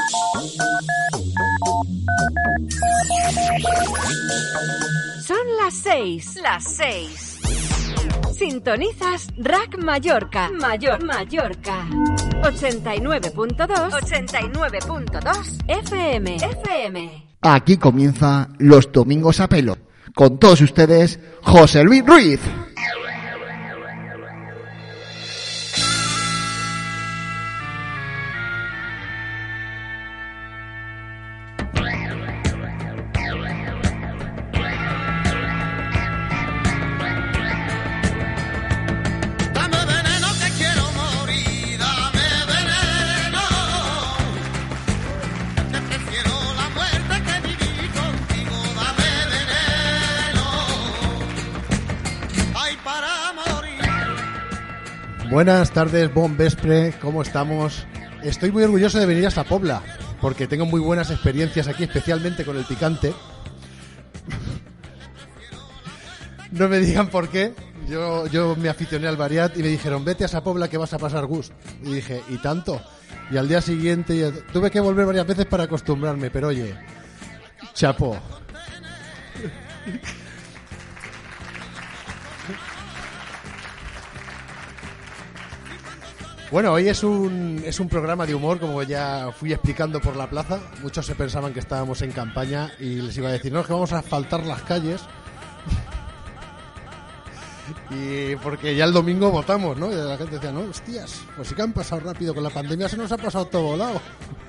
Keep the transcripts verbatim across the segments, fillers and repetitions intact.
Son las seis, las seis. Sintonizas Rack Mallorca, Mayor Mallorca. ochenta y nueve punto dos, ochenta y nueve punto dos F M, F M. Aquí comienza Los Domingos a Pelo. Con todos ustedes, José Luis Ruiz. Buenas tardes, bon vespre, ¿cómo estamos? Estoy muy orgulloso de venir a esta Pobla, porque tengo muy buenas experiencias aquí, especialmente con el picante. No me digan por qué. Yo, yo me aficioné al Variat y me dijeron, vete a esa Pobla que vas a pasar gusto. Y dije, ¿y tanto? Y al día siguiente tuve que volver varias veces para acostumbrarme, pero oye, chapo. Bueno, hoy es un es un programa de humor, como ya fui explicando por la plaza. Muchos se pensaban que estábamos en campaña y les iba a decir, no, es que vamos a asfaltar las calles. Y porque ya el domingo votamos, ¿no? Y la gente decía, no, hostias, pues sí que han pasado rápido, con la pandemia se nos ha pasado todo volado.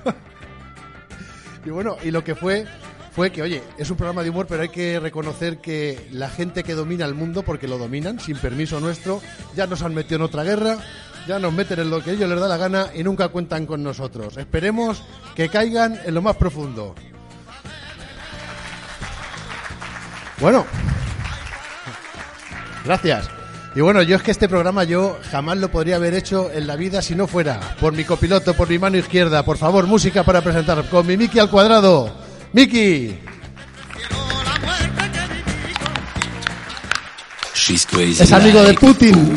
Y bueno, y lo que fue fue que, oye, es un programa de humor, pero hay que reconocer que la gente que domina el mundo, porque lo dominan, sin permiso nuestro, ya nos han metido en otra guerra. Ya nos meten en lo que a ellos les da la gana y nunca cuentan con nosotros. Esperemos que caigan en lo más profundo. Bueno, gracias. Y bueno, yo es que este programa yo jamás lo podría haber hecho en la vida si no fuera por mi copiloto, por mi mano izquierda. Por favor, música para presentar con mi Miki al cuadrado. ¡Miki! Es amigo de Putin.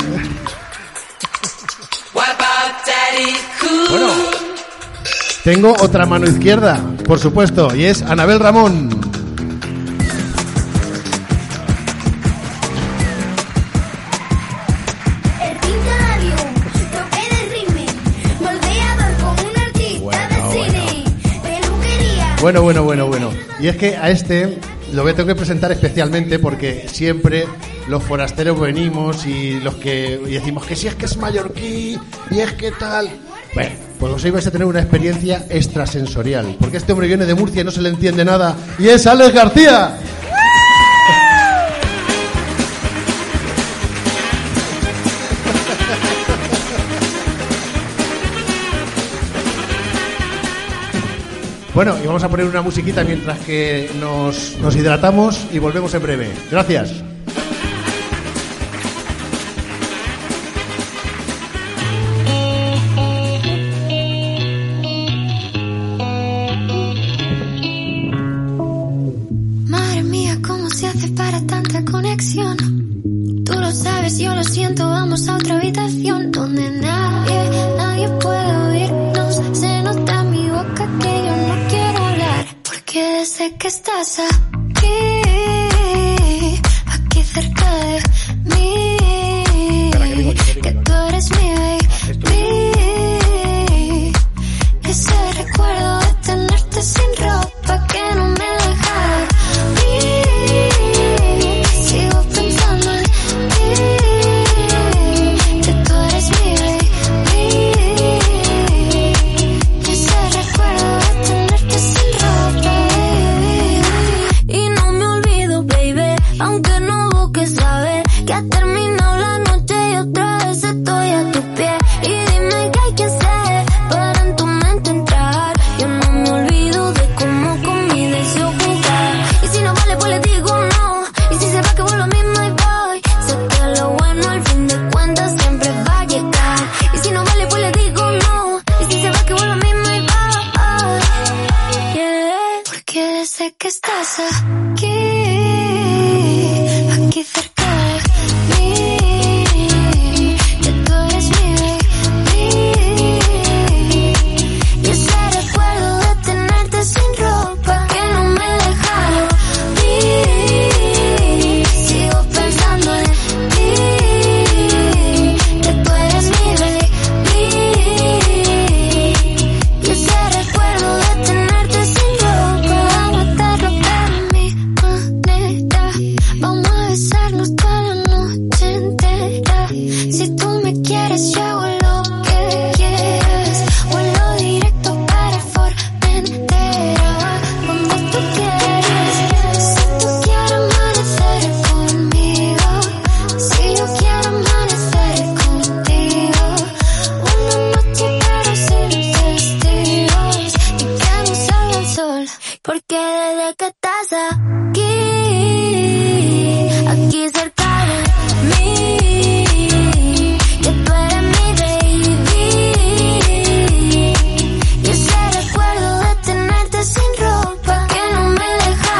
Bueno, tengo otra mano izquierda, por supuesto, y es Anabel Ramón. Bueno, bueno, bueno, bueno. Y es que a este lo voy a tener que presentar especialmente porque siempre los forasteros venimos y los que y decimos que si es que es mallorquí y es que tal. Bueno, pues hoy vais a tener una experiencia extrasensorial, porque este hombre viene de Murcia y no se le entiende nada, y es Alex García. Bueno, y vamos a poner una musiquita mientras que nos, nos hidratamos y volvemos en breve. Gracias. Tú lo sabes, yo lo siento, vamos a otra habitación donde nadie, nadie puede oírnos. Se nota en mi boca que yo no quiero hablar, porque sé que estás aquí, aquí cerca de mí, que tú eres mi baby. Ese recuerdo de tenerte sin ropa que no me deja vivir. Sigo pensando en ti, que tú eres mi baby. Ese recuerdo de tenerte sin ropa, baby. Y no me olvido, baby, aunque no busques saber que ha terminado la noche y otra vez estoy a tus pies. Y dime qué hay que hacer para en tu mente entrar. Yo no me olvido de cómo con mi deseo jugar. Y si no vale, pues le digo no. Y si se va, que vuelvo lo mismo y voy. Sé que lo bueno al fin de cuentas siempre va a llegar. Y si no vale, pues le digo no. Y si se va, que vuelvo lo mismo y voy. Yeah. Porque sé que estás aquí, aquí cerca de mí, que tú eres mi baby. Y ese recuerdo de Porque desde que estás aquí, aquí cerca de mí, que tú eres mi baby, y ese recuerdo de tenerte sin ropa que no me deja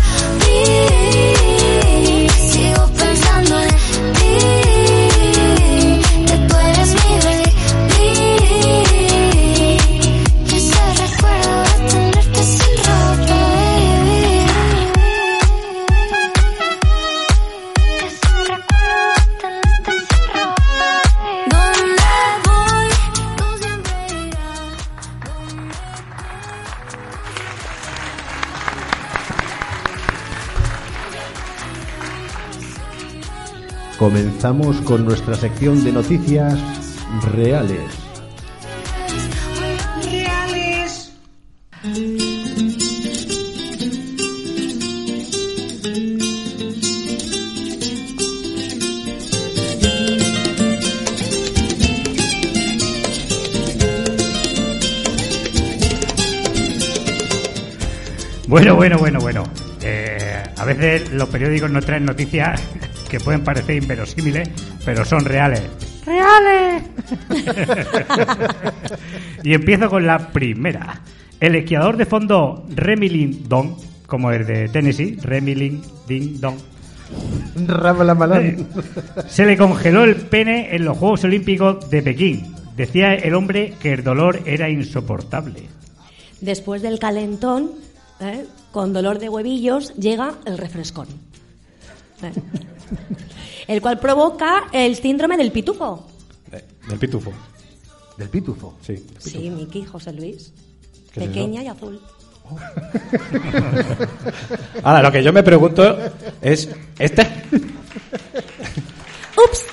ir, sigo pensando en ti, que tú eres mi baby, y ese recuerdo de tenerte sin ropa, baby. Ese recuerdo de tenerte sin ropa, baby. Donde voy, tú siempre irás. Comenzamos con nuestra sección de noticias reales. Bueno, bueno, bueno, bueno. Eh, a veces los periódicos nos traen noticias que pueden parecer inverosímiles, pero son reales. ¡Reales! Y empiezo con la primera. El esquiador de fondo Remy Lin Dong, como el de Tennessee, Remy Lin Ding Dong, se le congeló el pene en los Juegos Olímpicos de Pekín. Decía el hombre que el dolor era insoportable. Después del calentón, ¿eh? con dolor de huevillos, llega el refrescón. ¿Eh? El cual provoca el síndrome del pitufo. Eh, del pitufo. ¿Del pitufo? Sí. Del pitufo. Sí, Miki, José Luis. ¿Qué es Pequeña eso? y azul. Ahora, lo que yo me pregunto es... ¿Este? ¡Ups!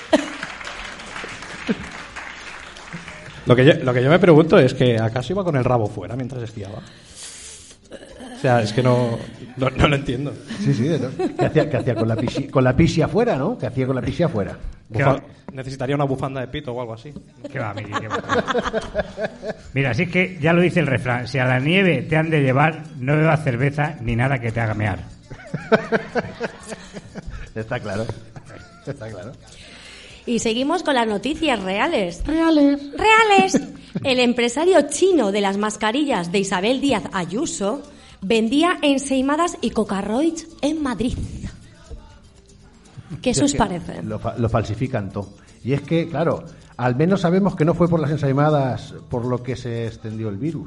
Lo que, yo, lo que yo me pregunto es que ¿acaso iba con el rabo fuera mientras esquiaba? O sea, es que no, no, no lo entiendo. Sí, sí. ¿no? ¿Qué hacía, qué hacía con la pisi, con la pisi afuera, no? ¿Qué hacía con la pisi afuera? Bufa- necesitaría una bufanda de pito o algo así. ¿Qué va, Miki? ¿Qué va? Mira, así es que ya lo dice el refrán. Si a la nieve te han de llevar, no bebas cerveza ni nada que te haga mear. Está claro. Está claro. Y seguimos con las noticias reales. Reales. Reales. El empresario chino de las mascarillas de Isabel Díaz Ayuso vendía ensaimadas y cocarroids en Madrid. ¿Qué Sí, os es que parece? Lo, fa- lo falsifican todo. Y es que, claro, al menos sabemos que no fue por las ensaimadas por lo que se extendió el virus.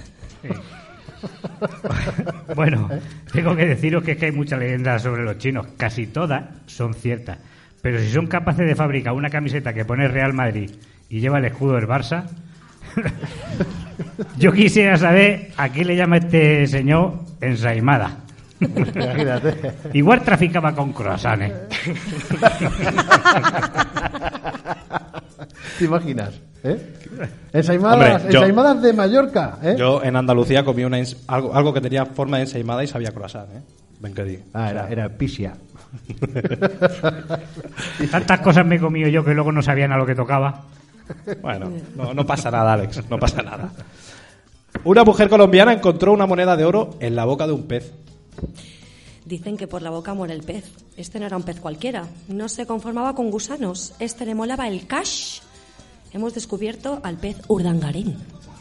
Bueno, tengo que deciros que, es que hay muchas leyendas sobre los chinos. Casi todas son ciertas. Pero si son capaces de fabricar una camiseta que pone Real Madrid y lleva el escudo del Barça... Yo quisiera saber a qué le llama este señor ensaimada. Imagínate. Igual traficaba con croissants. ¿Te imaginas? ¿Eh? Ensaimadas, Hombre, yo- ensaimadas de Mallorca, ¿eh? Yo en Andalucía comí una ens- algo, algo que tenía forma de ensaimada y sabía croissant, ¿eh? Ven que di. Ah, era, era pisia. Tantas cosas me he comido yo que luego no sabían a lo que tocaba. Bueno, no, no pasa nada, Alex, no pasa nada. Una mujer colombiana encontró una moneda de oro en la boca de un pez. Dicen que por la boca muere el pez. Este no era un pez cualquiera. No se conformaba con gusanos. Este le molaba el cash. Hemos descubierto al pez urdangarín.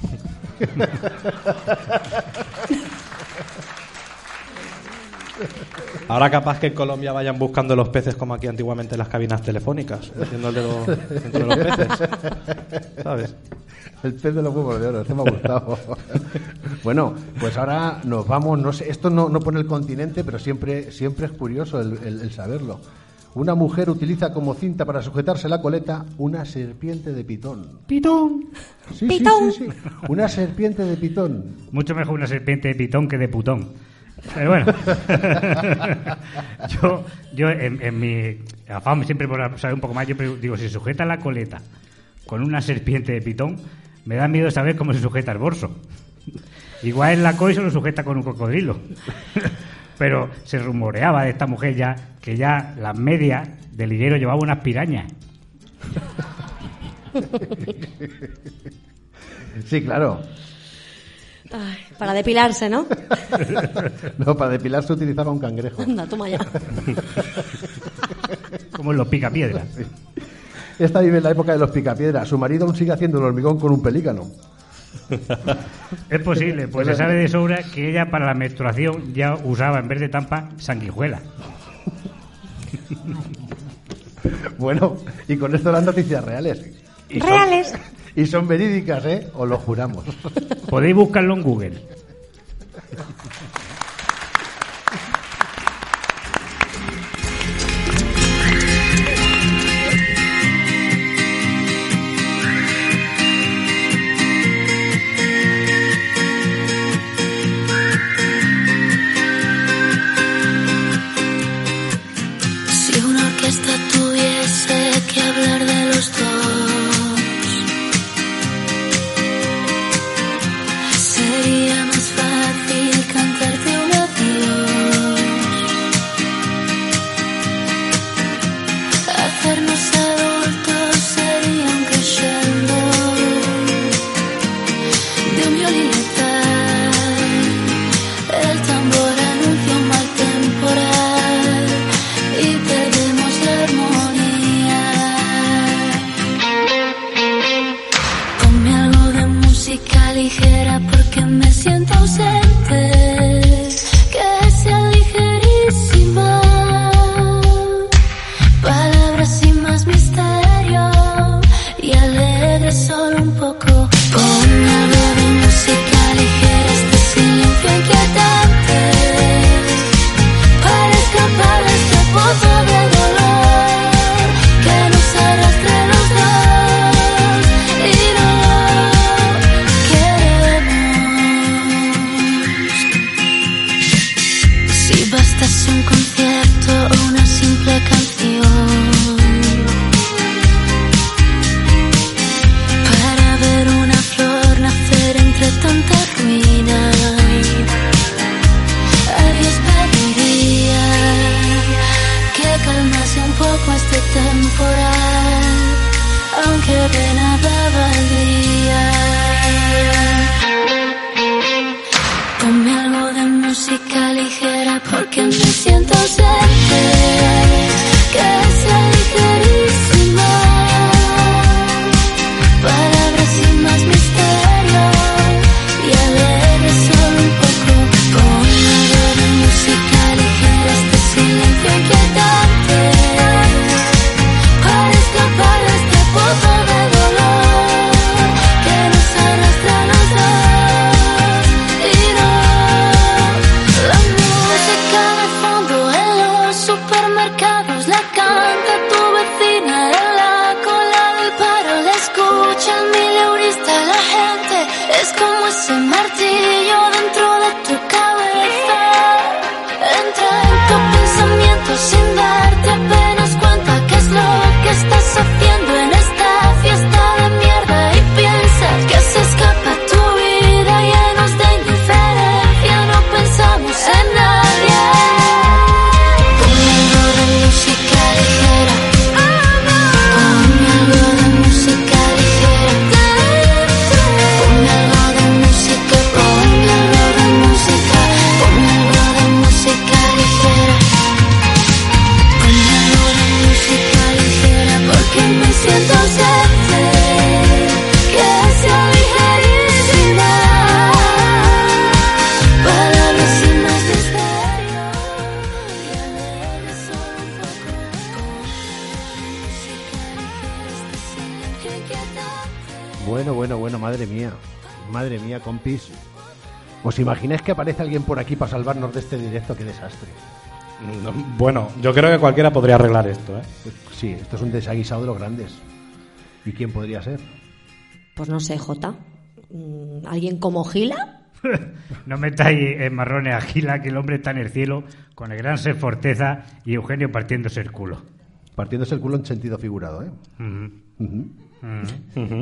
Ahora capaz que en Colombia vayan buscando los peces como aquí antiguamente en las cabinas telefónicas, metiendo el dedo dentro de los peces, ¿sabes? El pez de los huevos de oro, este me ha gustado. Bueno, pues ahora nos vamos, no sé, esto no, no pone el continente, pero siempre, siempre es curioso el, el- el saberlo. Una mujer utiliza como cinta para sujetarse la coleta una serpiente de pitón. Pitón. Sí, sí, ¡Pitón! sí, sí. Una serpiente de pitón. Mucho mejor una serpiente de pitón que de putón. Pero bueno, yo, yo en, en mi afán siempre por saber un poco más, yo digo, si sujeta la coleta con una serpiente de pitón, me da miedo saber cómo se sujeta el bolso. Igual en la C O I se lo sujeta con un cocodrilo. Pero se rumoreaba de esta mujer ya que ya las medias del liguero llevaba unas pirañas. Sí, claro. Ay, para depilarse, ¿no? No, para depilarse utilizaba un cangrejo. Anda, toma ya. Como en los picapiedras. Esta vive en la época de los picapiedras. Su marido aún sigue haciendo el hormigón con un pelícano. Es posible, pues se sabe de sobra que ella para la menstruación ya usaba en vez de tampa sanguijuela. Bueno, y con esto las noticias reales. Y Reales. Son, y son verídicas, ¿eh? Os lo juramos. Podéis buscarlo en Google. Si una orquesta tuviese que hablar de los dos, sería más fácil cantarte un adiós, hacernos adultos sería un crescendo de un violín letal. El tambor anuncia un mal temporal y perdemos la armonía. Ponme algo de música ligera porque me siento ausente, que sea ligerísima, palabras sin más misterio y alegre solo un poco. Ponme algo de música ligera, este silencio inquietante, para escapar de este pozo de dolor que nos arrastre los dos y no queremos. Si bastase un concierto o una simple canción para ver una flor nacer entre tanta ruina, a Dios pediría que calmase un poco este temporal, aunque de nada valdría. Ponme algo de música ligera porque me siento ausente, que sea ligerísima, palabras sin más misterio y alegre solo un poco. Ponme algo de música ligera, este silencio inquietante, para escapar de este pozo de dolor que nos arrastra a los dos y no. La música de fondo en los supermercados la canta tu vecina en la cola del paro, la escucha el mileurista. La gente es como ese martillo dentro de tu cabeza, entra en tu pensamiento sin darte apenas cuenta qué es lo que estás haciendo en esta fiesta de mierda y piensas que se escapa tu vida llenos de indiferencia, no pensamos en nadie. Ponme algo de música ligera, ponme algo de música ligera, ponme algo de música, ponme algo de música, ponme algo de música ligera, ponme algo de música ligera porque me siento ausente, que sea ligerísima, palabras sin más misterio y alegre solo un poco. Ponme música ligera, este silencio inquietante. Bueno, bueno, bueno, madre mía. Madre mía, compis. ¿Os imagináis que aparece alguien por aquí para salvarnos de este directo? ¡Qué desastre! No, bueno, yo creo que cualquiera podría arreglar esto, ¿eh? Sí, esto es un desaguisado de los grandes. ¿Y quién podría ser? Pues no sé, Jota. Mm, ¿Alguien como Gila? No metáis en marrones a Gila, que el hombre está en el cielo con el gran ser Forteza y Eugenio partiéndose el culo. Partiéndose el culo en sentido figurado, ¿eh? Ujú. Ujú. Ujú.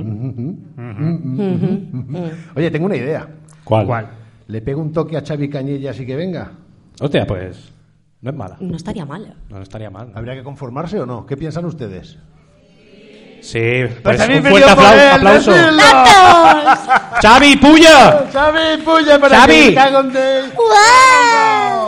Ujú. Oye, tengo una idea. ¿Cuál? ¿Cuál? ¿Le pego un toque a Xavi Cañellas y que venga? Hostia, pues no es mala. No estaría mal. No estaría mal. ¿Habría que conformarse o no? ¿Qué piensan ustedes? Sí, Pues pues también un me fuerte dio por aplau- él, aplauso. decirlo. ¡Datos! ¡Xavi, puya! ¡Xavi, puya para Xavi. que me cago en Déu! ¡Guau!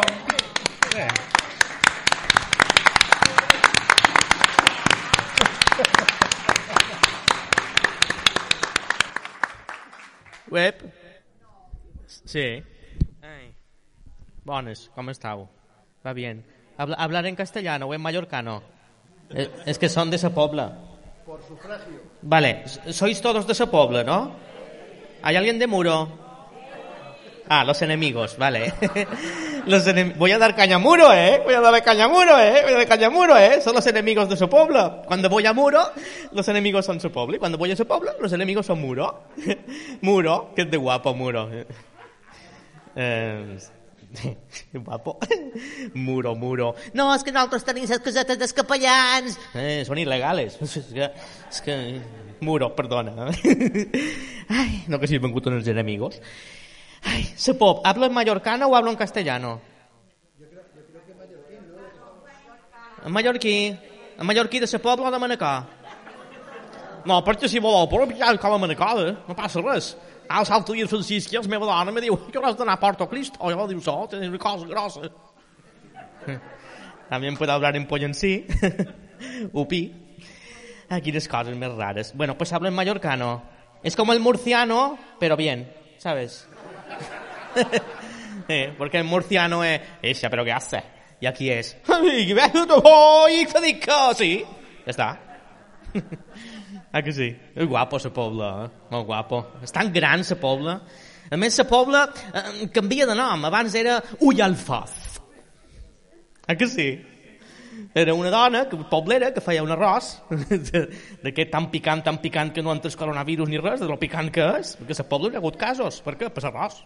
Web? Sí. Ai. Bones, com estàu? Va bien. Habla, ¿Hablar en castellano o en mallorcano? Eh, es que son de esa pobla. Por sufragio. Vale, sois todos de esa pobla, ¿no? ¿Hay alguien de Muro? Ah, los enemigos, vale. Los enem- Voy a dar caña a Muro, ¿eh? Voy a darle caña a Muro, ¿eh? Voy a darle caña a Muro, ¿eh? Son los enemigos de su pueblo. Cuando voy a Muro, los enemigos son su pueblo. Y cuando voy a su pueblo, los enemigos son Muro. Muro, que es de guapo, Muro. Eh... guapo. Muro, Muro. No, és que nosaltres tenim les casetes dels capellans. Eh, són il·legales. És que... És que... Muro, perdona. Ay, no que si he vengut unos enemigos. Ay, Sepop, ¿hablo en mallorcano o hablo en castellano? Yo creo, yo creo que mallorquí, ¿no? En mallorquí. En mallorquí de Sepop o de Manacor? No, perquè si voleu, però ja cal a Manacor, eh? No passa res. Ah, els altres dies Francisc i la meva dona me diu que hauràs d'anar a Porto Cristo. O jo diu, so, tens una cosa grossa. También puedo hablar en pollensí. Upi. Aquí las cosas más raras. Bueno, pues hablo en mallorcano. Es como el murciano, pero bien, ¿sabes? eh, porque el murciano es... Esa, pero ¿qué hace? Y aquí es... Sí, ya está. Ah, que sí? És guapo, la pobla, eh? Molt guapo. És tan gran, la pobla. A més, la pobla eh, canvia de nom. Abans era Ullalfaz. Ah, que sí? Era una dona, que, poblera, que feia un arròs d'aquest tan picant, tan picant que no entres coronavirus ni res, de lo picant que és, perquè a la pobla hi ha hagut casos. Per què? Per l'arròs.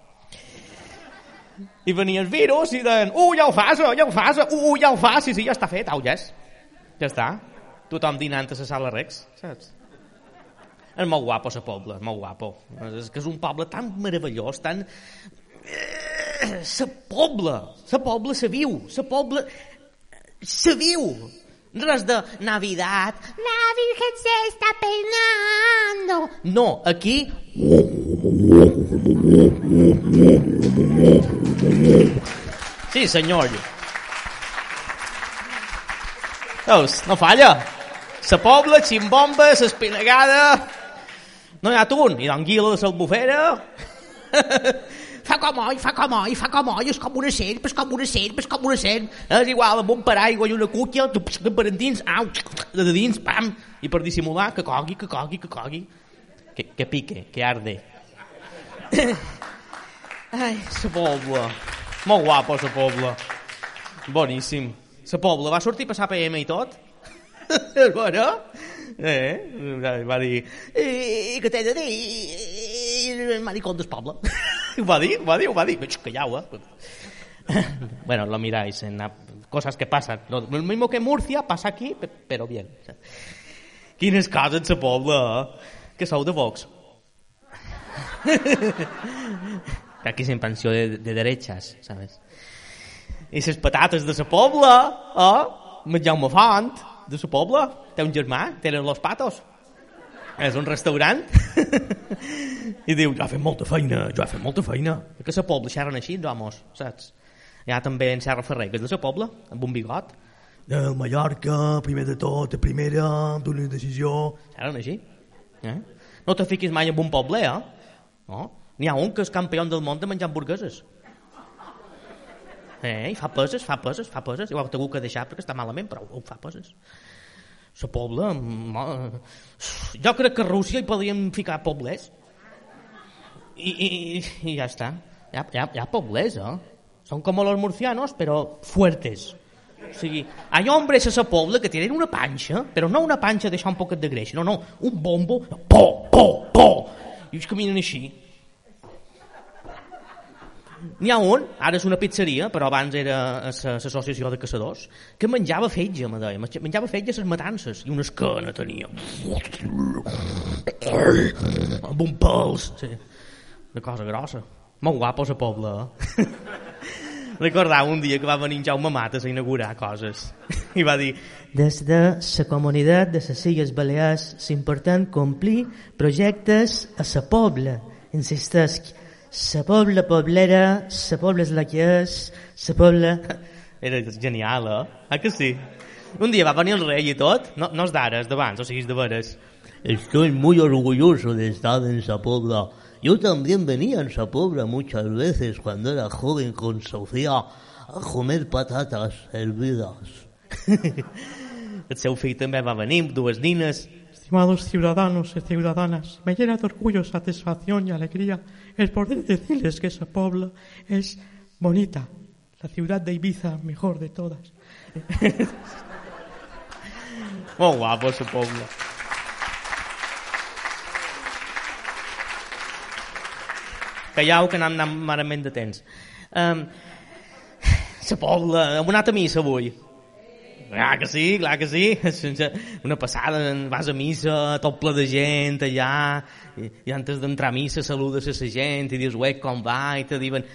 I venia el virus i deien, uh, ja ho fas, ja ho fas, uh, ja ho fas, sí, sí, ja està fet, au, ja és. Ja està. Tothom dinant a la sala Rex, saps? És molt guapo, la pobla, és molt guapo. És que és un poble tan meravellós, tan... La pobla, la pobla se viu, la pobla se viu. Res de Navidad, la Virgen se está peinando. No, aquí... Sí, senyor. Veus, no falla. La pobla, ximbomba, l'espinagada... No hi ha atún, i d'anguila de l'albufera... Fa com oi, fa com oi, fa com oi, és com una serp, és com una serp, és com una serp. És igual, amb un paraigua i una cúquia, per endins, au, de dins, pam, i per dissimular, que cogui, que cogui, que cogui. Que, que pique, que arde. Ai, la pobla. Molt guapo, la pobla. Boníssim. La pobla va sortir a passar P M i tot. Bueno, eh, va dir, eh, què t'he de dir? El maricón del poble. Ho va dir, ho va dir, ho va dir. Callau, eh? Bueno, lo miráis en la... cosas que pasan. Lo, lo mismo que Murcia pasa aquí, pero bien. Quines coses, la pobla, eh? Que sou de Vox. Aquí és en pensió de, de derechas, ¿sabes? I les patates de la pobla, eh? Menjar un Font, de la pobla, té un germà, tenen los patos. És un restaurant. I diu, jo he fet molta feina, jo he fet molta feina. Que la pobla xerren així, homes, saps? Hi ha també en Serra Ferrer, que és de la pobla, amb un bigot. El Mallorca, primer de tot, de primera, amb una decisió... Xerren així. Eh? No te fiquis mai en un poble, eh? No? N'hi ha un que és campió del món de menjar hamburgueses. Eh, i fa peses, fa peses, fa peses. I ho ha hagut que deixar perquè està malament, però ho fa peses. La pobla... Jo crec que a Rússia hi podríem ficar poblers. I, i, i ja està. Hi ha, hi ha, hi ha poblers, eh? Són com los murcianos, però fuertes. O sigui, hay hombres a la pobla que tenen una panxa, però no una panxa deixar un poquet de greix, no, no, un bombo, po, po, po, i ells caminen així. N'hi ha un, ara és una pizzeria, però abans era l'associació de caçadors, que menjava fetge, me deia, menjava fetge a les matances, i una esquena tenia. Amb un pèls, sí. Una cosa grossa. Molt guapo la pobla, eh? Recordava un dia que va venir en Jaume Matas a inaugurar coses i va dir: des de la comunitat de les Illes Balears s'important complir projectes a la pobla. Insistesc, la pobla poblera, la pobla és la que és, la pobla... Era genial, eh? Ah, que sí? Un dia va venir el rei i tot, no, no és d'ara, és d'abans, o sigui, és de veres. Estoy muy orgulloso de estar en Sapobra. Yo también venía en Sapobra muchas veces cuando era joven con Sofía a comer patatas hervidas. El seu fill també va venir amb dues nines. Estimados ciudadanos y ciudadanas, me llena de orgullo, satisfacción y alegría el poder decirles que esa pobla es bonita, la ciudad de Ibiza mejor de todas. Molt guapo, esa pobla. Callau, que anem anant malament de temps. Um, la pobla, hem anat a missa avui. Clar que sí, clar que sí. Una passada, vas a missa, tot ple de gent allà, i, i antes d'entrar a missa saludes a la gent i dius, ué, com va? I te diuen,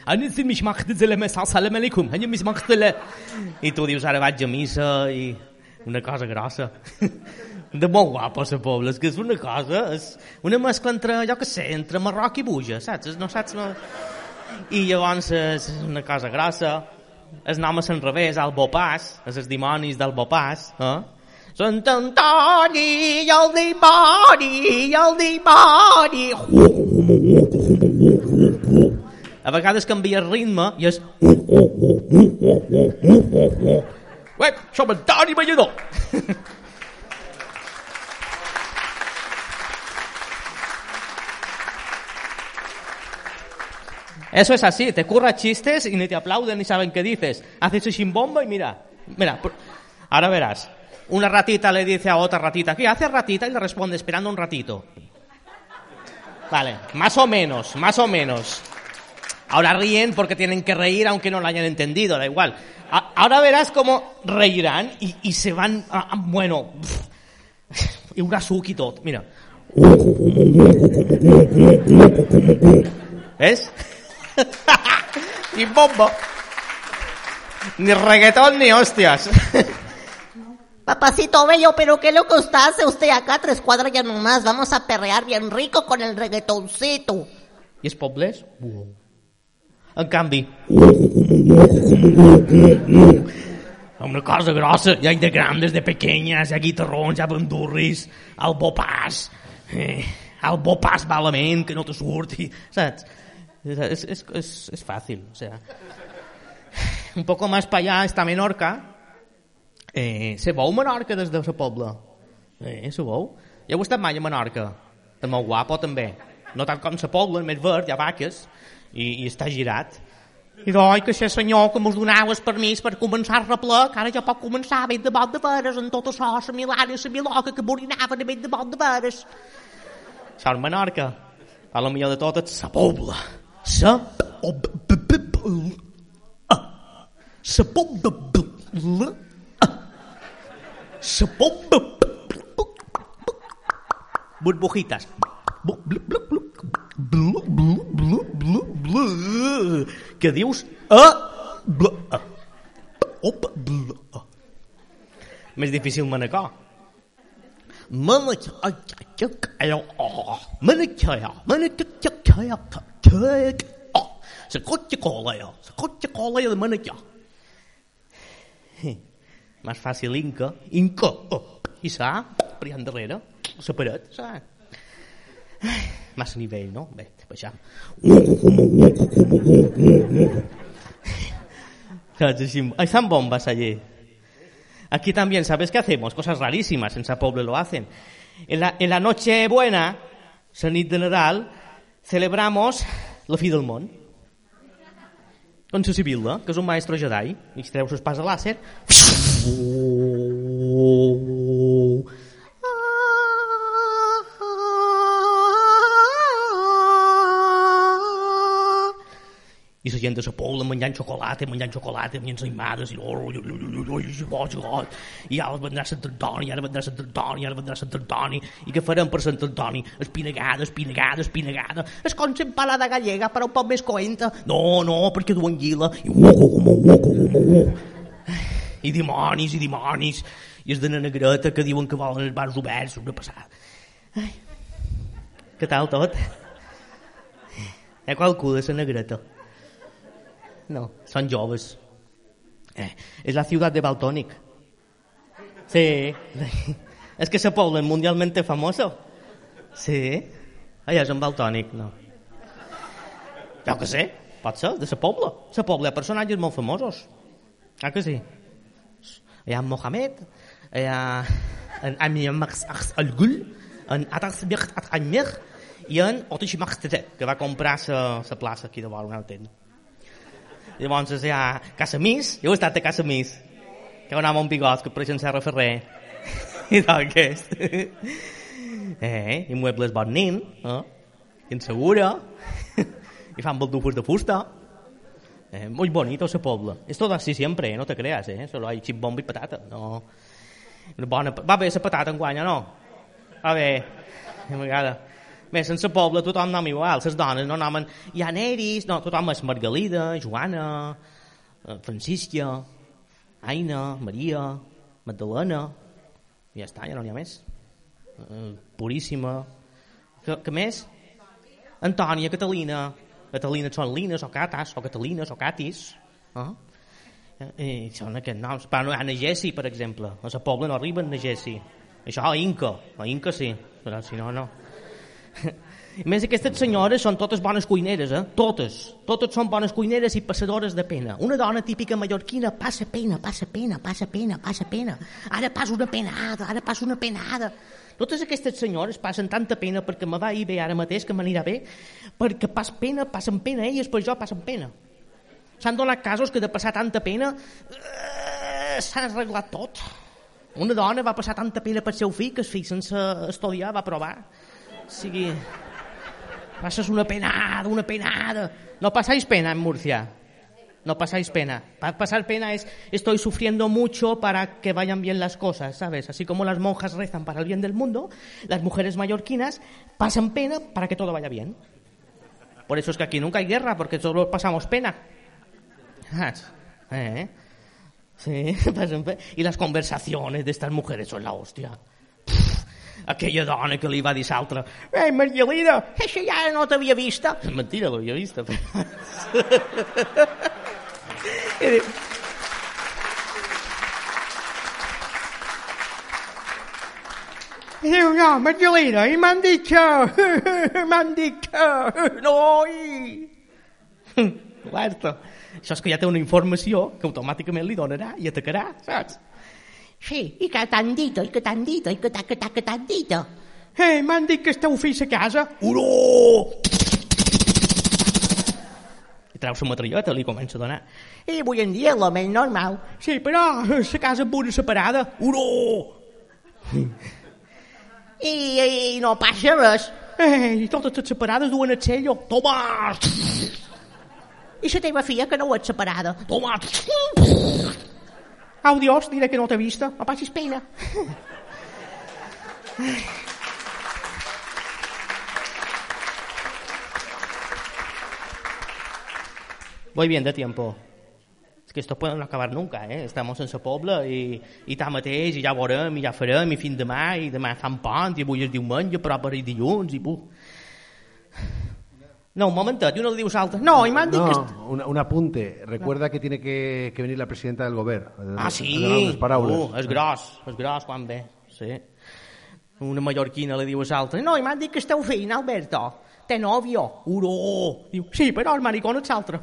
i tu dius, ara vaig a missa, i una cosa grossa. De molt guapa la pobla, és que és una cosa, és una mescla entre, jo què sé, entre Marroc i Buja, saps? No saps? No... I llavors és una cosa grossa. El nom és enrevés, el Bopàs, és els dimonis del Bopàs, eh? Sant Antoni i el dimoni, i el dimoni. A vegades canvia el ritme i és... Ué, som Antoni Ballador. Eso es así, te curras chistes y ni te aplauden ni saben qué dices. Haces un chimbombo y mira, mira, ahora verás. Una ratita le dice a otra ratita, ¿qué hace ratita? Y le responde, esperando un ratito. Vale, más o menos, más o menos. Ahora ríen porque tienen que reír aunque no lo hayan entendido, da igual. A- ahora verás cómo reirán y, y se van, a, a, bueno, y un suc y todo, mira. ¿Ves? Ni bombo, ni reggaetón, ni hostias. Papacito bello, pero qué loco está, hace usted acá tres cuadras ya nomás. Vamos a perrear bien rico con el reggaetoncito. I els pobles? En canvi, una cosa grossa, hi ha de grandes, de pequeñas, hi ha guitarrons, hi ha bandurris, el bopàs, eh, el bopàs malament, que no te surti, saps? Es, es, es, es fácil, o sea. Un poco más para allá está Menorca. Eh, se veu Menorca des de la pobla? Eh, se veu? Ja heu estat mai a Menorca? És molt guapo també. No tant com la pobla, més verd, hi ha vaques, i, i està girat. I doi que ser senyor que mos donau el permís per començar a replar, que ara ja pot començar a de bot de veres, en tot això, la Milana i la Miloca, que borinaven a de bot de veres. Això és Menorca. A la millor de tot és la pobla. Sa Sa pobla Sa pobla burbujitas. Què dius? Més difícil Manacor. Manacor la cotxe colea, la cotxe colea de Manacor. Més fàcil Inca, Inca, oh, i s'ha, per allà endarrere, la paret, s'ha. Massa nivell, no? Bé, baixam. Están bombas allí. Aquí también, ¿sabes qué hacemos? Cosas rarísimas, en ese pueblo lo hacen. En la, en la noche buena, la nit de Nadal, celebramos la fi del món. Con la Sibil·la, que és un maestro Jedi, i es treu l'espasa làser. I la gent de la Pobla menjant xocolata, menjant xocolata, menjant ensaïmades, i oh, ui, ui, ui, ui, ui, ui, i ara vendrà Sant Antoni, ara vendrà Sant Antoni, ara vendrà Sant Antoni, i què farem per Sant Antoni? Espinagada, espinagada, espinagada, es com empalada gallega, però un poc més coenta. No, no, perquè duen guila, i uoco, uoco, uoco, i dimonis, i dimonis, i és de la negreta que diuen que volen els bars oberts, una passada. Ai. Què tal tot? Hi ha qualcú de la negreta? No, són joves. Eh, és la ciutat de Baltònic. Sí. És que la Pobla és mundialmente famosa. Sí. Allà és en Baltònic, no. Jo que sé, pot ser, de la Pobla. La Pobla hi ha personatges molt famosos. Ah que sí? Hi ha en Mohamed, hi ha en Amiyamak al-Gul, en Atasbir al-Amir i en Otishimachtere, que va comprar la plaça aquí de vora una altra. Llavors hi ha Casamís, jo he estat a Casamís, que hi ha un home amb bigots que pareix en Serra Ferrer, i tal que és. Eh, i muebles Bonin, eh? I en Segura, i fan baldufos de fusta. Eh, muy bonito ese pueblo. Es todo así siempre, eh? No te creas, eh? Solo hay chip, bomba i patata. No. Una bona... Va bé la patata en guanya, no? Va bé. A vegada. Bé, sense poble tothom nom igual, les dones no nomen... Hi ha Neris, no, tothom és Margalida, Joana, Francisca, Aina, Maria, Magdalena, i ja està, ja no n'hi ha més. Puríssima. Què, què més? Antònia, Catalina. Catalina són Lines, o Catas, o Catalines, o Catis. Eh? I són aquests noms. Però no hi ha Negessi, per exemple. A la Pobla no arriben Negessi. Això, a Inca. A Inca sí, però si no, no. A més, aquestes senyores són totes bones cuineres, eh? Totes. Totes són bones cuineres i passadores de pena. Una dona típica mallorquina passa pena, passa pena, passa pena, passa pena. Ara passa una penada, ara passa una penada. Totes aquestes senyores passen tanta pena perquè me va ir bé ara mateix, que m'anirà bé, perquè pas pena, passen pena elles, per jo passen pena. S'han donat casos que de passar tanta pena eh, s'han arreglat tot. Una dona va passar tanta pena pel seu fill que el fill sense estudiar va provar. O sigui, passes una penada, una penada. No pasáis pena en Murcia. No pasáis pena. Pasar pena es, estoy sufriendo mucho para que vayan bien las cosas, ¿sabes? Así como las monjas rezan para el bien del mundo, las mujeres mallorquinas pasan pena para que todo vaya bien. Por eso es que aquí nunca hay guerra, porque solo pasamos pena. ¿Eh? Sí, pasan pena. Y las conversaciones de estas mujeres son la hostia. Aquella dona que li va dir l'altra: «Ei, Margalida, això ja no t'havia vista». Mentira, l'havia vista. I diu... I diu, no, Margalida, i m'han dit que... m'han dit que... No, i... Alerta. Això és que ja té una informació que automàticament li donarà i atacarà, saps? Sí, i que t'han dit, i que t'han dit, i que t'han que que t'han dit. Eh, m'han dit que esteu fills a casa. Uró! I treu la metralleta, li comença a donar. I avui en dia és el més normal. Sí, però la casa amb una separada. Uró! I, i no passa res. Eh, i totes les separades duen el sello. Toma! I la teva filla que no ho és separada. Toma! Au, Dios, diré que no t'he vista. No passis pena. Voy bien de tiempo. Es que esto puede no acabar nunca, ¿eh? Estamos en sa pobla i, i tant mateix, i ja veurem, i ja farem, i fin demà, i demà fan pont, i avui és diumenge, però per i dilluns, i buh. No, un momentet, i uno li diu l'altre. No, i m'han dit no, que... No, un, un apunte. Recuerda no. que tiene que, que venir la presidenta del govern. Ah, sí? Uh, és gros, és gros quan ve. Sí. Una mallorquina li diu a l'altre. No, i m'han dit que esteu fent, Alberto. Té novio. Uró. Diu, sí, però el maricón és l'altre.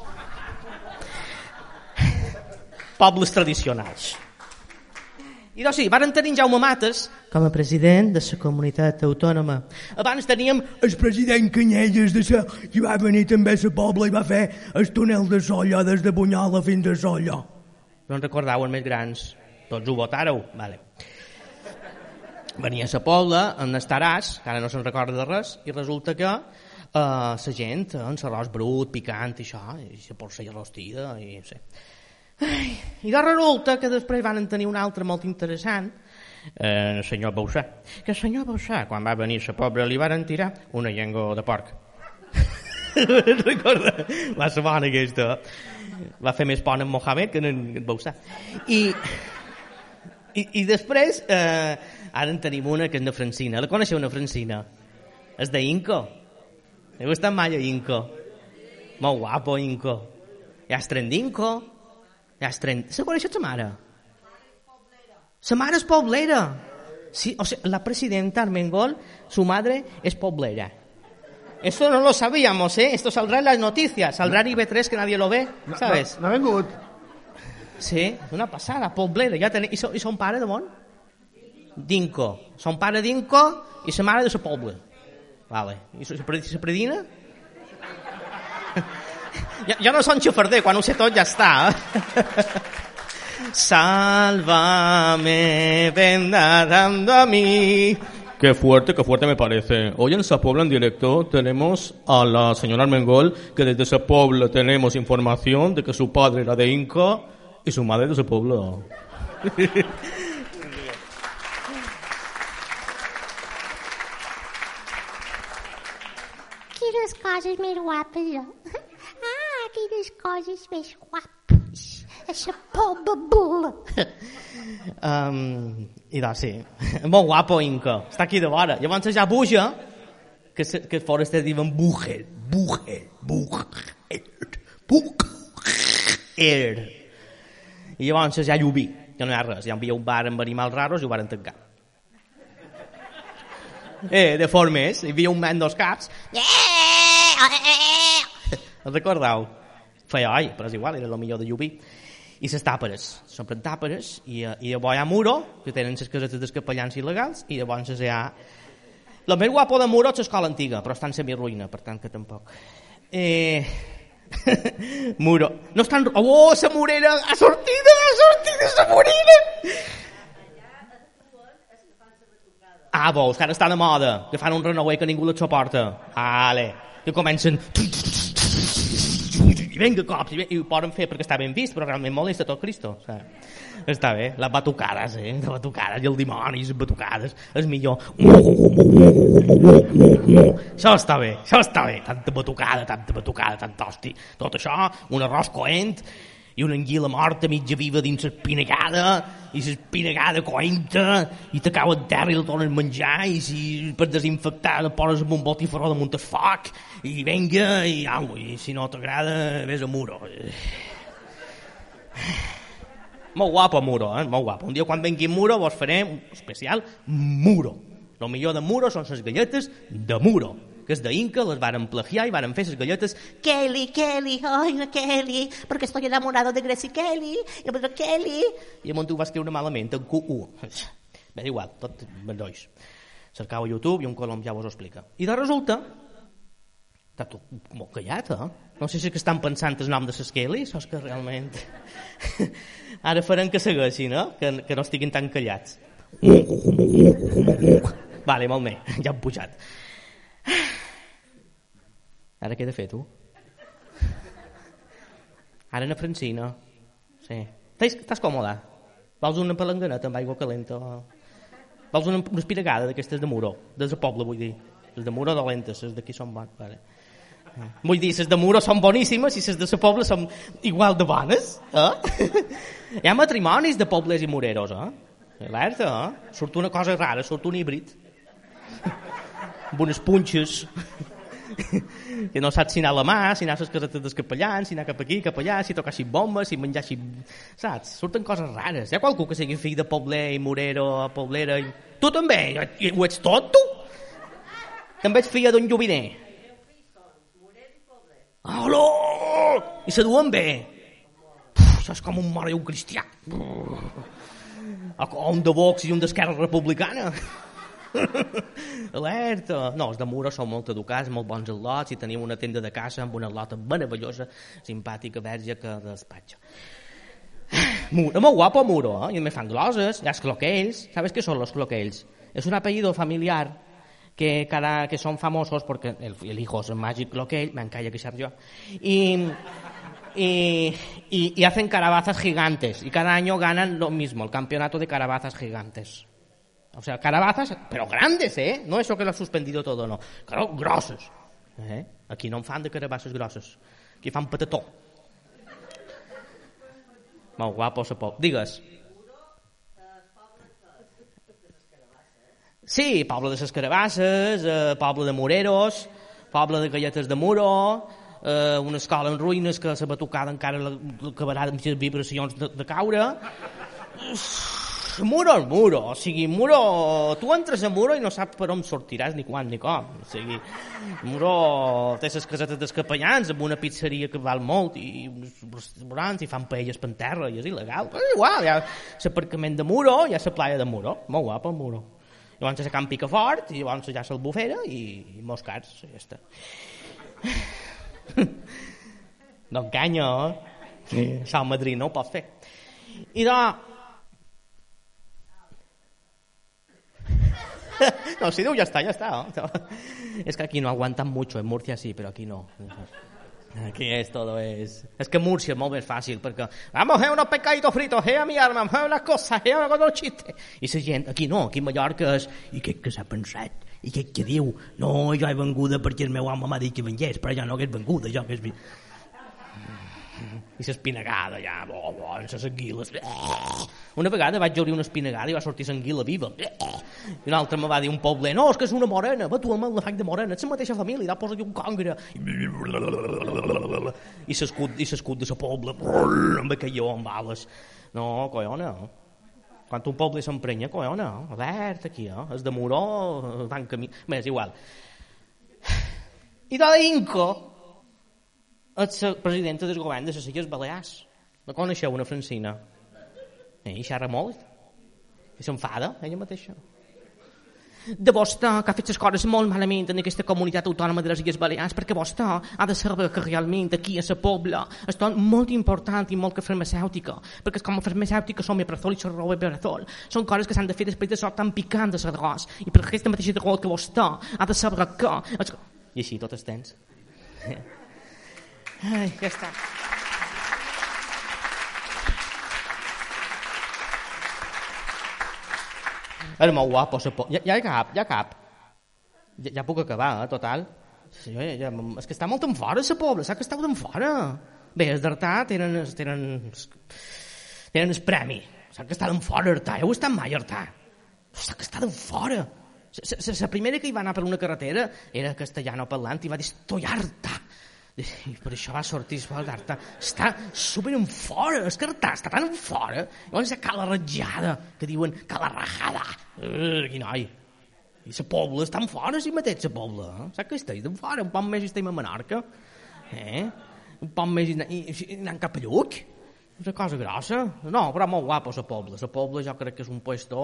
Pobles tradicionals. I doncs sí, varen tenir Jaume Mates com a president de la comunitat autònoma. Abans teníem el president Canyelles de sa, i va venir també a la Pobla i va fer el túnel de Solla des de Bunyola fins a Solla. No en recordeu els més grans? Tots ho votàreu? Vale. Venia a la Pobla, en Estaràs, que ara no se'n recorda de res, i resulta que Uh, la gent, eh, amb l'arròs brut, picant i això, i la porcella rostida, i no sé. Ai, i de resulta que després van tenir un altre molt interessant, eh, el senyor Bausà. Que el senyor Bausà, quan va venir a la pobra, li varen tirar una llengua de porc. Recorda? Va ser bona aquesta. Va fer més pont en Mohamed que en Bausà. I, i, i després, eh, ara en tenim una que és de Francina. La coneixeu, una Francina? És d'Inco. Heu estat mai a Inco? Molt guapo, Inco. Ja has tren d'Inco. Ja has tren... Se coneixes la mare? Sa mare és poblera. Sí, o sea, la presidenta Armengol, su madre es poblera. Esto no lo sabíamos, ¿eh? Esto saldrá en las noticias. Saldrá en I B tres que nadie lo ve, ¿sabes? No, no ha vengut. Sí, una passada, poblera. Ja ten... I, so, I son pare de on? D'Inco. Son pare d'Inco i sa mare de sa poble. Vale. I sa predina? Ja, ja no són xofarder, quan ho sé tot ja està. Sálvame, ven nadando a mí. Qué fuerte, qué fuerte me parece. Hoy en Sapobla en directo tenemos a la señora Armengol, que desde Sapobla tenemos información de que su padre era de Inca y su madre de Sapobla. Quines coses més guapes, jo. Ah, quines coses més guapes. Eixa pobra bula. Um, I doncs sí, molt guapo Inca, està aquí de vora. Llavors ja puja, que, se, que fora este diuen Bucher, Bucher, Bucher, Bucher. I llavors ja lluví, ja no hi ha res, ja hi havia un bar amb animals raros i ho varen tancar. Eh, de formes, hi havia un man dos caps. El recordeu? Feia oi, però és igual, era el millor de lluví. I les tàperes, s'omplen tàperes, i, i llavors hi ha Muro, que tenen les casetes dels capellans il·legals, i llavors hi ha... El més guapo de Muro és l'escola antiga, però està en semi-ruïna, per tant que tampoc. Eh... Muro. No estan... Oh, la Morera! Ha sortit, ha sortit la Morera! Ah, veus, que ara està de moda, que fan un renouer que ningú les suporta. Ale, que comencen... I venga cops, i, i ho poden fer perquè està ben vist, però realment molesta tot Cristo. O sigui, està bé, les batucades, eh? Les batucades i el dimoni, les batucades, és millor. Això està bé, això està bé. Tanta batucada, tanta batucada, tant hosti. Tot això, un arròs coent i una anguila morta mitja viva dins l'espinagada, i l'espinagada coenta, i te cau en terra i la tornes a menjar, i si per desinfectar la poses amb un botifarró damunt el foc, i venga, i au, i si no t'agrada, vés a Muro. Molt guapo Muro, eh? Molt guapo. Un dia quan vengui Muro vos farem un especial Muro. El millor de Muro són les galletes de Muro, que és d'Inca, les varen plagiar i varen fer les galletes Kelly, Kelly, ay, no Kelly, porque estoy enamorado de Gracie Kelly, y pero Kelly. I llavors tu vas escriure malament, en Q U. Bé, igual, tot bandolls. Cercau a YouTube i un colom ja vos ho explica. I de resulta, està tot molt callat, eh? No sé si és que estan pensant el nom de les Kelly, o és que realment... Ara farem que segueixin, eh? Que, que no estiguin tan callats. Vale, molt bé, ja hem pujat. Ara què he de fer, tu? Ara una Francina. Sí. Estàs còmode? Vols una palanganeta amb aigua calenta? Vols una, una espiragada d'aquestes de Muro? Des de poble, vull dir. Les de Muro dolentes, les d'aquí són bones. Vale. Vull dir, les de Muro són boníssimes i les de la poble són igual de bones. Eh? Hi ha matrimonis de pobles i moreros, eh? Alerta, eh? Surt una cosa rara, surt un híbrid. Amb unes punxes que no saps si anar a la mà, si anar a les casetes dels capellans, si anar cap aquí, cap allà, si tocar així bombes, si menjar així... Saps? Surten coses rares. Hi ha qualcú que sigui fill de pobler i morero, poblera... I... Tu també? I ho ets tot, tu? També ets filla d'un lluviner? Hola! I se duen bé? Uf, això és com un mare i un cristià. O un de Vox i un d'Esquerra Republicana. Alerta. No, els de Muro són molt educats, molt bons al·lots, i tenim una tenda de casa amb una al·lota meravellosa, simpàtica, verge, que despatxa. Muro, molt guapo Muro, eh? I me fan gloses, hi ha els cloquells. ¿Sabes què són els cloquells? És un apellido familiar que, cada, que son famosos porque el, el hijo es Magic Loquell, me encalla que sea yo, y, y, y, y hacen carabazas gigantes, y cada año ganan lo mismo, el campeonato de carabazas gigantes. O sea, carabazas, pero grandes, ¿eh? No eso que lo ha suspendido todo, no. Claro, grosses. Eh? Aquí no en fan de carabasses grosses. Aquí fan patató. Molt guapo, se pot. Digues. Sí, poble de les carabasses, eh, poble de moreros, poble de galletes de muro, eh, una escola en ruïnes que la batucada encara acabarà amb les vibracions de, de caure. Muro és muro, o sigui, muro... Tu entres a muro i no saps per on sortiràs ni quan ni com. O sigui, muro té les casetes dels capellans amb una pizzeria que val molt i uns restaurants i fan paelles per terra i és il·legal. Però és igual, hi ha l'aparcament de muro, hi ha la playa de muro. Molt guapa el muro. Llavors hi ha Camp Picafort i llavors hi ha l'Albufera i, i molts cars, i ja està. No enganya, eh? Sí. Això al Madrid no ho pots fer. I doncs... No, si diu ja està, ja està. ¿No? Es que aquí no aguantan mucho, en Murcia sí, pero aquí no. Aquí es todo es... Es que Murcia es molt més fàcil, perquè vamos a unos pescaditos fritos, eh, a mi arma, a unas cosas, eh, a unos chistes. I la gent, aquí no, aquí a Mallorca és... I què que s'ha pensat? I què que diu? No, jo he venguda perquè el meu home m'ha dit que vengués, però jo no hagués venguda, jo hagués... I l'espinagada, ja, bo, bo, amb les anguiles. Una vegada vaig obrir una espinagada i va sortir l'anguila viva. I un altre me va dir un poble, no, és que és una morena, va, tu amb la faig de morena, ets la mateixa família, i posa-hi un congre. I l'escut i l'escut de la poble, amb aquelló, amb bales. No, collona, quan un poble s'emprenya, collona, verd aquí, eh? És de Moró, van camí... Bé, és igual. I de l'Inco, és la presidenta del govern de les Illes Balears. La coneixeu, una Francina? Eh, i xerra molt. I s'enfada, ella mateixa. De vostè, que ha fet les coses molt malament en aquesta comunitat autònoma de les Illes Balears, perquè vostè ha de saber que realment aquí a la pobla és molt important i molt que farmacèutica, perquè com a farmacèutica som eprazol i xarró eprazol. Són coses que s'han de fer després de sort tan picant de l'arròs. I per aquesta mateixa raó que vostè ha de saber que... I així tot el temps. Ai, ja està. Era molt guapo. Ja, ja cap, ja cap. Ja, ja puc acabar, eh, total. Sí, ja, ja, és que està molt en fora, la pobla, saps que estàu en fora. Bé, els d'Artà tenen, tenen, tenen el premi. Saps que està en fora, Artà. Heu estat mai, Artà? Saps que està en fora. La primera que hi va anar per una carretera era castellano parlant i va dir estoy harta. I per això va sortir l'Artà. Està super en fora, és que Artà està tan en fora. Llavors hi ha cala ratjada, que diuen cala rajada. Uh, quin noi. I la pobla està en fora, si mateix, la pobla. Eh? Saps que estem en fora? Un poc més estem a Menorca. Eh? Un poc més i, i, i anant cap a Lluc. És una cosa grossa. No, però molt guapa la pobla. La pobla jo crec que és un puesto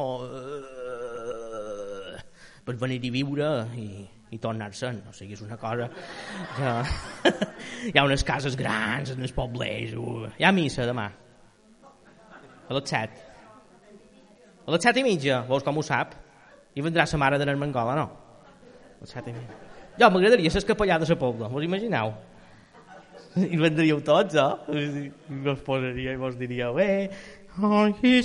uh, per venir-hi viure i... i tornar-se'n, o sigui, és una cosa que... Hi ha unes cases grans en els poblers, hi ha missa demà a les set a les set i mitja, veus com ho sap i vendrà la mare de l'Armengol, no? A les set i mitja jo m'agradaria ser capellà de la pobla, vos imagineu? I vendríeu tots, eh? I vos posaria i vos diríeu eh, i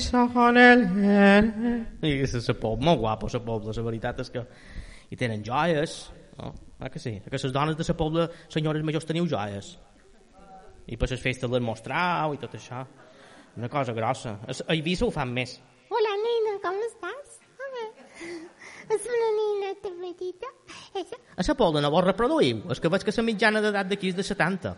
és la pobla, molt guapa la pobla, la veritat és que i tenen joies, no? Ah, que sí? Que les dones de la pobla, senyores majors, teniu joies. I per les festes les mostrau i tot això. Una cosa grossa. A Eivissa ho fan més. Hola, nena, com estàs? És una nineta petita. A la pobla no vos reproduïu? És que veig que la mitjana d'edat d'aquí és de setanta.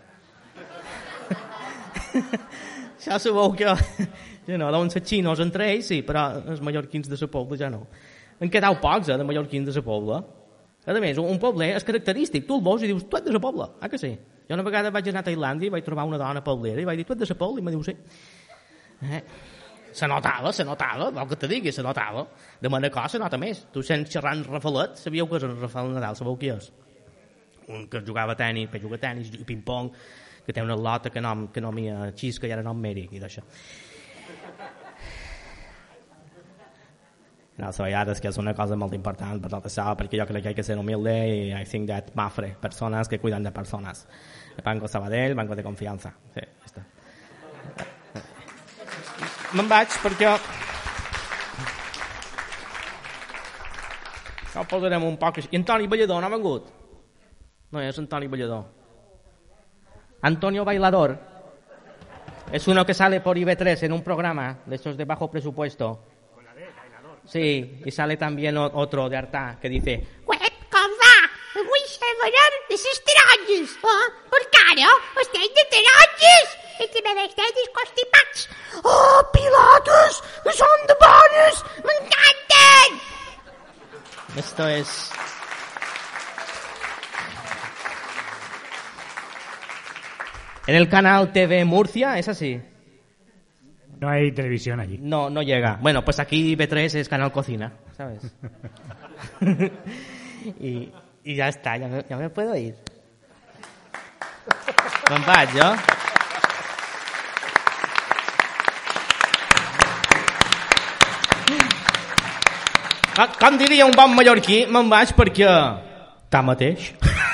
Ja sabeu que... Ja no, deuen ser xinos entre ells, sí, però els mallorquins de la pobla ja no. En quedau pocs, eh, de mallorquins de la pobla. A més, un poble és característic. Tu el veus i dius, tu ets de la pobla. Ah, que sí? Jo una vegada vaig anar a Tailàndia i vaig trobar una dona poblera i vaig dir, tu ets de la pobla? I me diu, sí. Eh? Se notava, se notava, vol que te digui, se notava. De Manacor se nota més. Tu sents xerrant Rafalet, sabíeu que és en Rafael Nadal, sabeu qui és? Un que jugava a tenis, que juga a tenis i ping-pong, que té una lota que nom, que nomia Xisca i ara nom Mèric i d'això. No, so ja, és que és una cosa molt important per tot això, perquè jo crec que hay que ser humilde i I think that Mafre, persones que cuidan de persones. Banco Sabadell, banco de confiança. Sí, ja està. Me'n vaig perquè... Això ho posarem un poc... I Antoni Ballador no ha vengut? No, és Antoni Ballador. Antonio Bailador. Es uno que sale por I B tres en un programa de esos de bajo presupuesto. Sí, y sale también otro de Artà que dice: Uep, com va? Avui sabran les taronges, oh? Perquè ara estem de taronges i també estem constipats. Oh, pilotes, que són de bones, m'encanten! Esto es... En el canal T V Murcia, ¿es así? No hay televisión allí. No, no llega. Bueno, pues aquí B tres es Canal Cocina, ¿sabes? y, y ya está, ya me, ya me puedo ir. Me'n vaig, jo? Com diria un bon mallorquí, me'n vaig perquè... Tanmateix.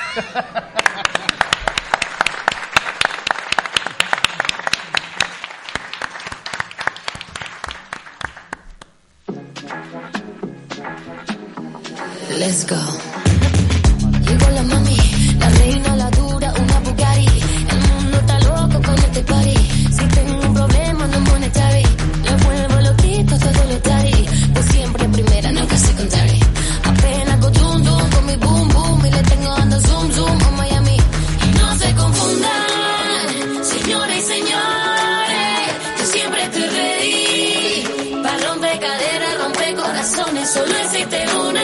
Let's go. Llegó la mami, la reina, la dura, una Bugatti. El mundo está loco con este party. Si tengo un problema no monetary, le vuelvo loquito todo lo tari. Pues siempre primera, nunca secondary. Apenas go dum dum con mi boom boom y le tengo ando zoom zoom a Miami. Y no se confundan, señores y señores, yo siempre estoy ready. Pa' romper caderas, romper corazones, solo existe una.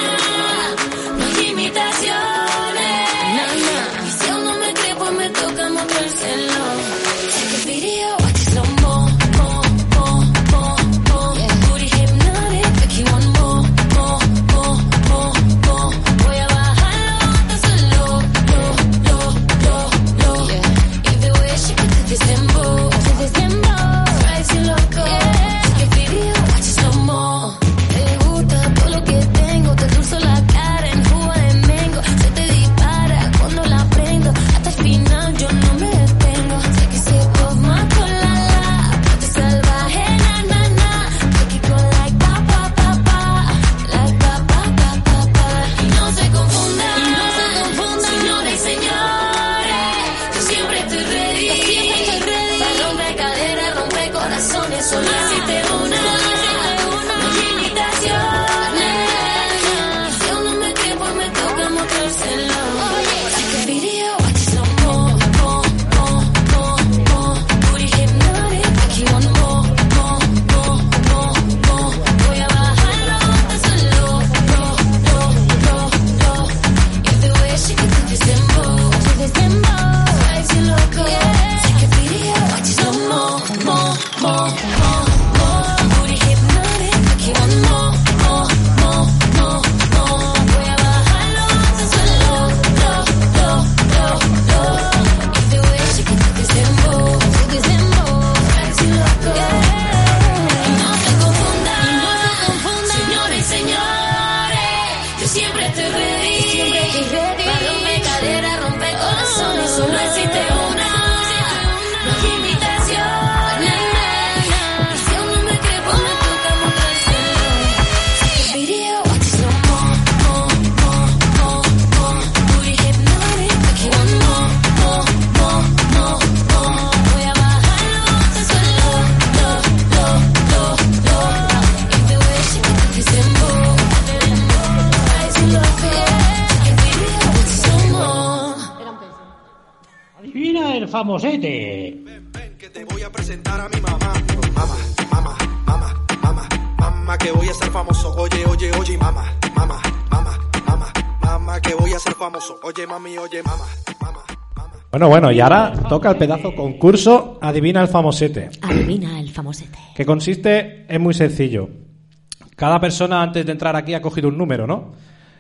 Famosete. Ven, ven, que te voy a presentar a mi mamá. Mamá, mamá, mamá, mamá, mamá, que voy a ser famoso. Oye, oye, oye, mamá, mamá, mamá, mamá, mamá, que voy a ser famoso. Oye, mami, oye, mamá, mamá. Bueno, bueno, y ahora toca el pedazo concurso Adivina el famosete. Adivina el famosete. Que consiste, es muy sencillo. Cada persona antes de entrar aquí ha cogido un número, ¿no?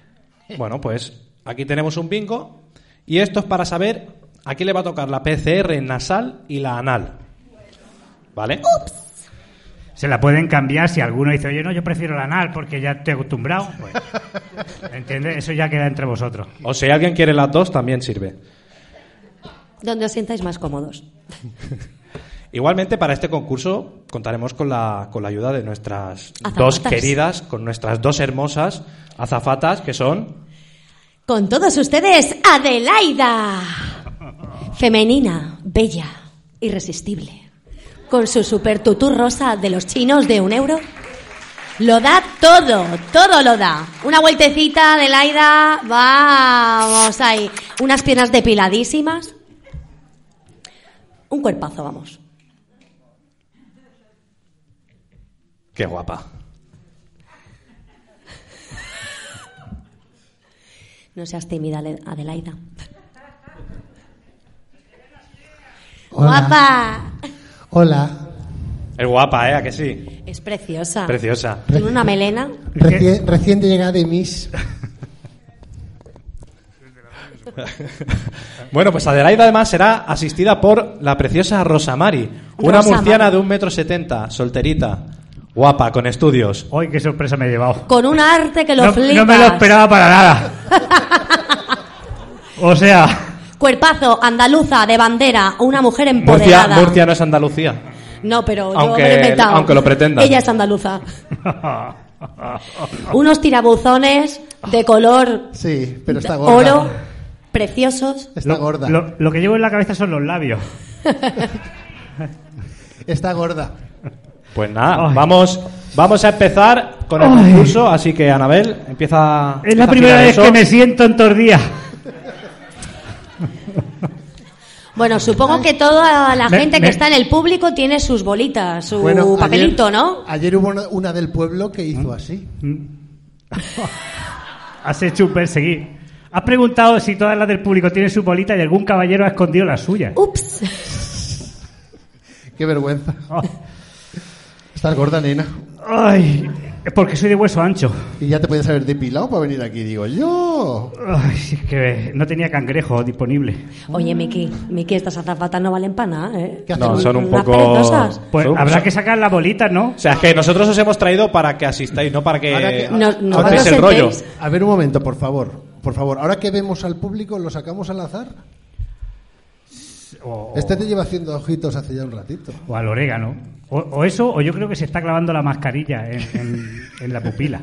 Bueno, pues aquí tenemos un bingo y esto es para saber a quién le va a tocar la P C R nasal y la anal. ¿Vale? Ups. Se la pueden cambiar si alguno dice, oye, no, yo prefiero la anal porque ya estoy acostumbrado. Pues, ¿entiendes? Eso ya queda entre vosotros. O si alguien quiere las dos, también sirve. Donde os sientáis más cómodos. Igualmente, para este concurso contaremos con la, con la ayuda de nuestras Azafatas. dos queridas, con nuestras dos hermosas azafatas, que son... Con todos ustedes, Adelaida. Femenina, bella, irresistible. Con su super tutú rosa de los chinos de un euro. Lo da todo, todo lo da. Una vueltecita, Adelaida, vamos ahí. Unas piernas depiladísimas. Un cuerpazo, vamos. Qué guapa. No seas tímida, Adelaida. Hola. Guapa. Hola. Es guapa, ¿eh? ¿A que sí? Es preciosa. Preciosa. Tiene una melena. Recién, recién llegada de Miss. Bueno, pues Adelaida además será asistida por la preciosa Rosamari, una Rosamari. murciana de un metro setenta, solterita, guapa, con estudios. ¡Ay, qué sorpresa me he llevado! Con un arte que lo No, flipas. no me lo esperaba para nada. O sea... Cuerpazo, andaluza, de bandera, una mujer Murcia, empoderada. Murcia no es Andalucía. No, pero yo Aunque- me lo he inventado. aunque lo pretendan. Ella es andaluza. Unos tirabuzones de color Sí, pero está gorda. oro, preciosos. Está lo, gorda. Lo, lo que llevo en la cabeza son los labios. Está gorda. Pues nada, Ay. vamos, vamos a empezar con el Ay. concurso, así que Anabel, empieza. Es la empieza a primera girar vez eso. que me siento en todos días. Bueno, supongo que toda la Me- gente me- que está en el público tiene sus bolitas, su Bueno, papelito, ayer, ¿no? Ayer hubo una, una del pueblo que hizo así. Has hecho un perseguir. Has preguntado si todas las del público tienen su bolita y algún caballero ha escondido la suya. Ups. Qué vergüenza. Oh. Estás gorda, nena. Ay, es porque soy de hueso ancho. Y ya te puedes haber depilado para venir aquí, digo yo. Ay, si es que no tenía cangrejo disponible. Oye, Miki, Miki, estas azafatas no valen para nada, ¿eh? ¿Qué hacen? No, son un Unas poco. perezosas. Pues son- habrá son- que sacar las bolitas, ¿no? O sea, es que nosotros os hemos traído para que asistáis, no para que. Ahora que- No, no contéis os el rollo. sentéis. A ver un momento, por favor. Por favor, ahora que vemos al público, ¿lo sacamos al azar? O, Este te lleva haciendo ojitos hace ya un ratito. o al orégano. O, o eso, o yo creo que se está clavando la mascarilla en, en- en la pupila.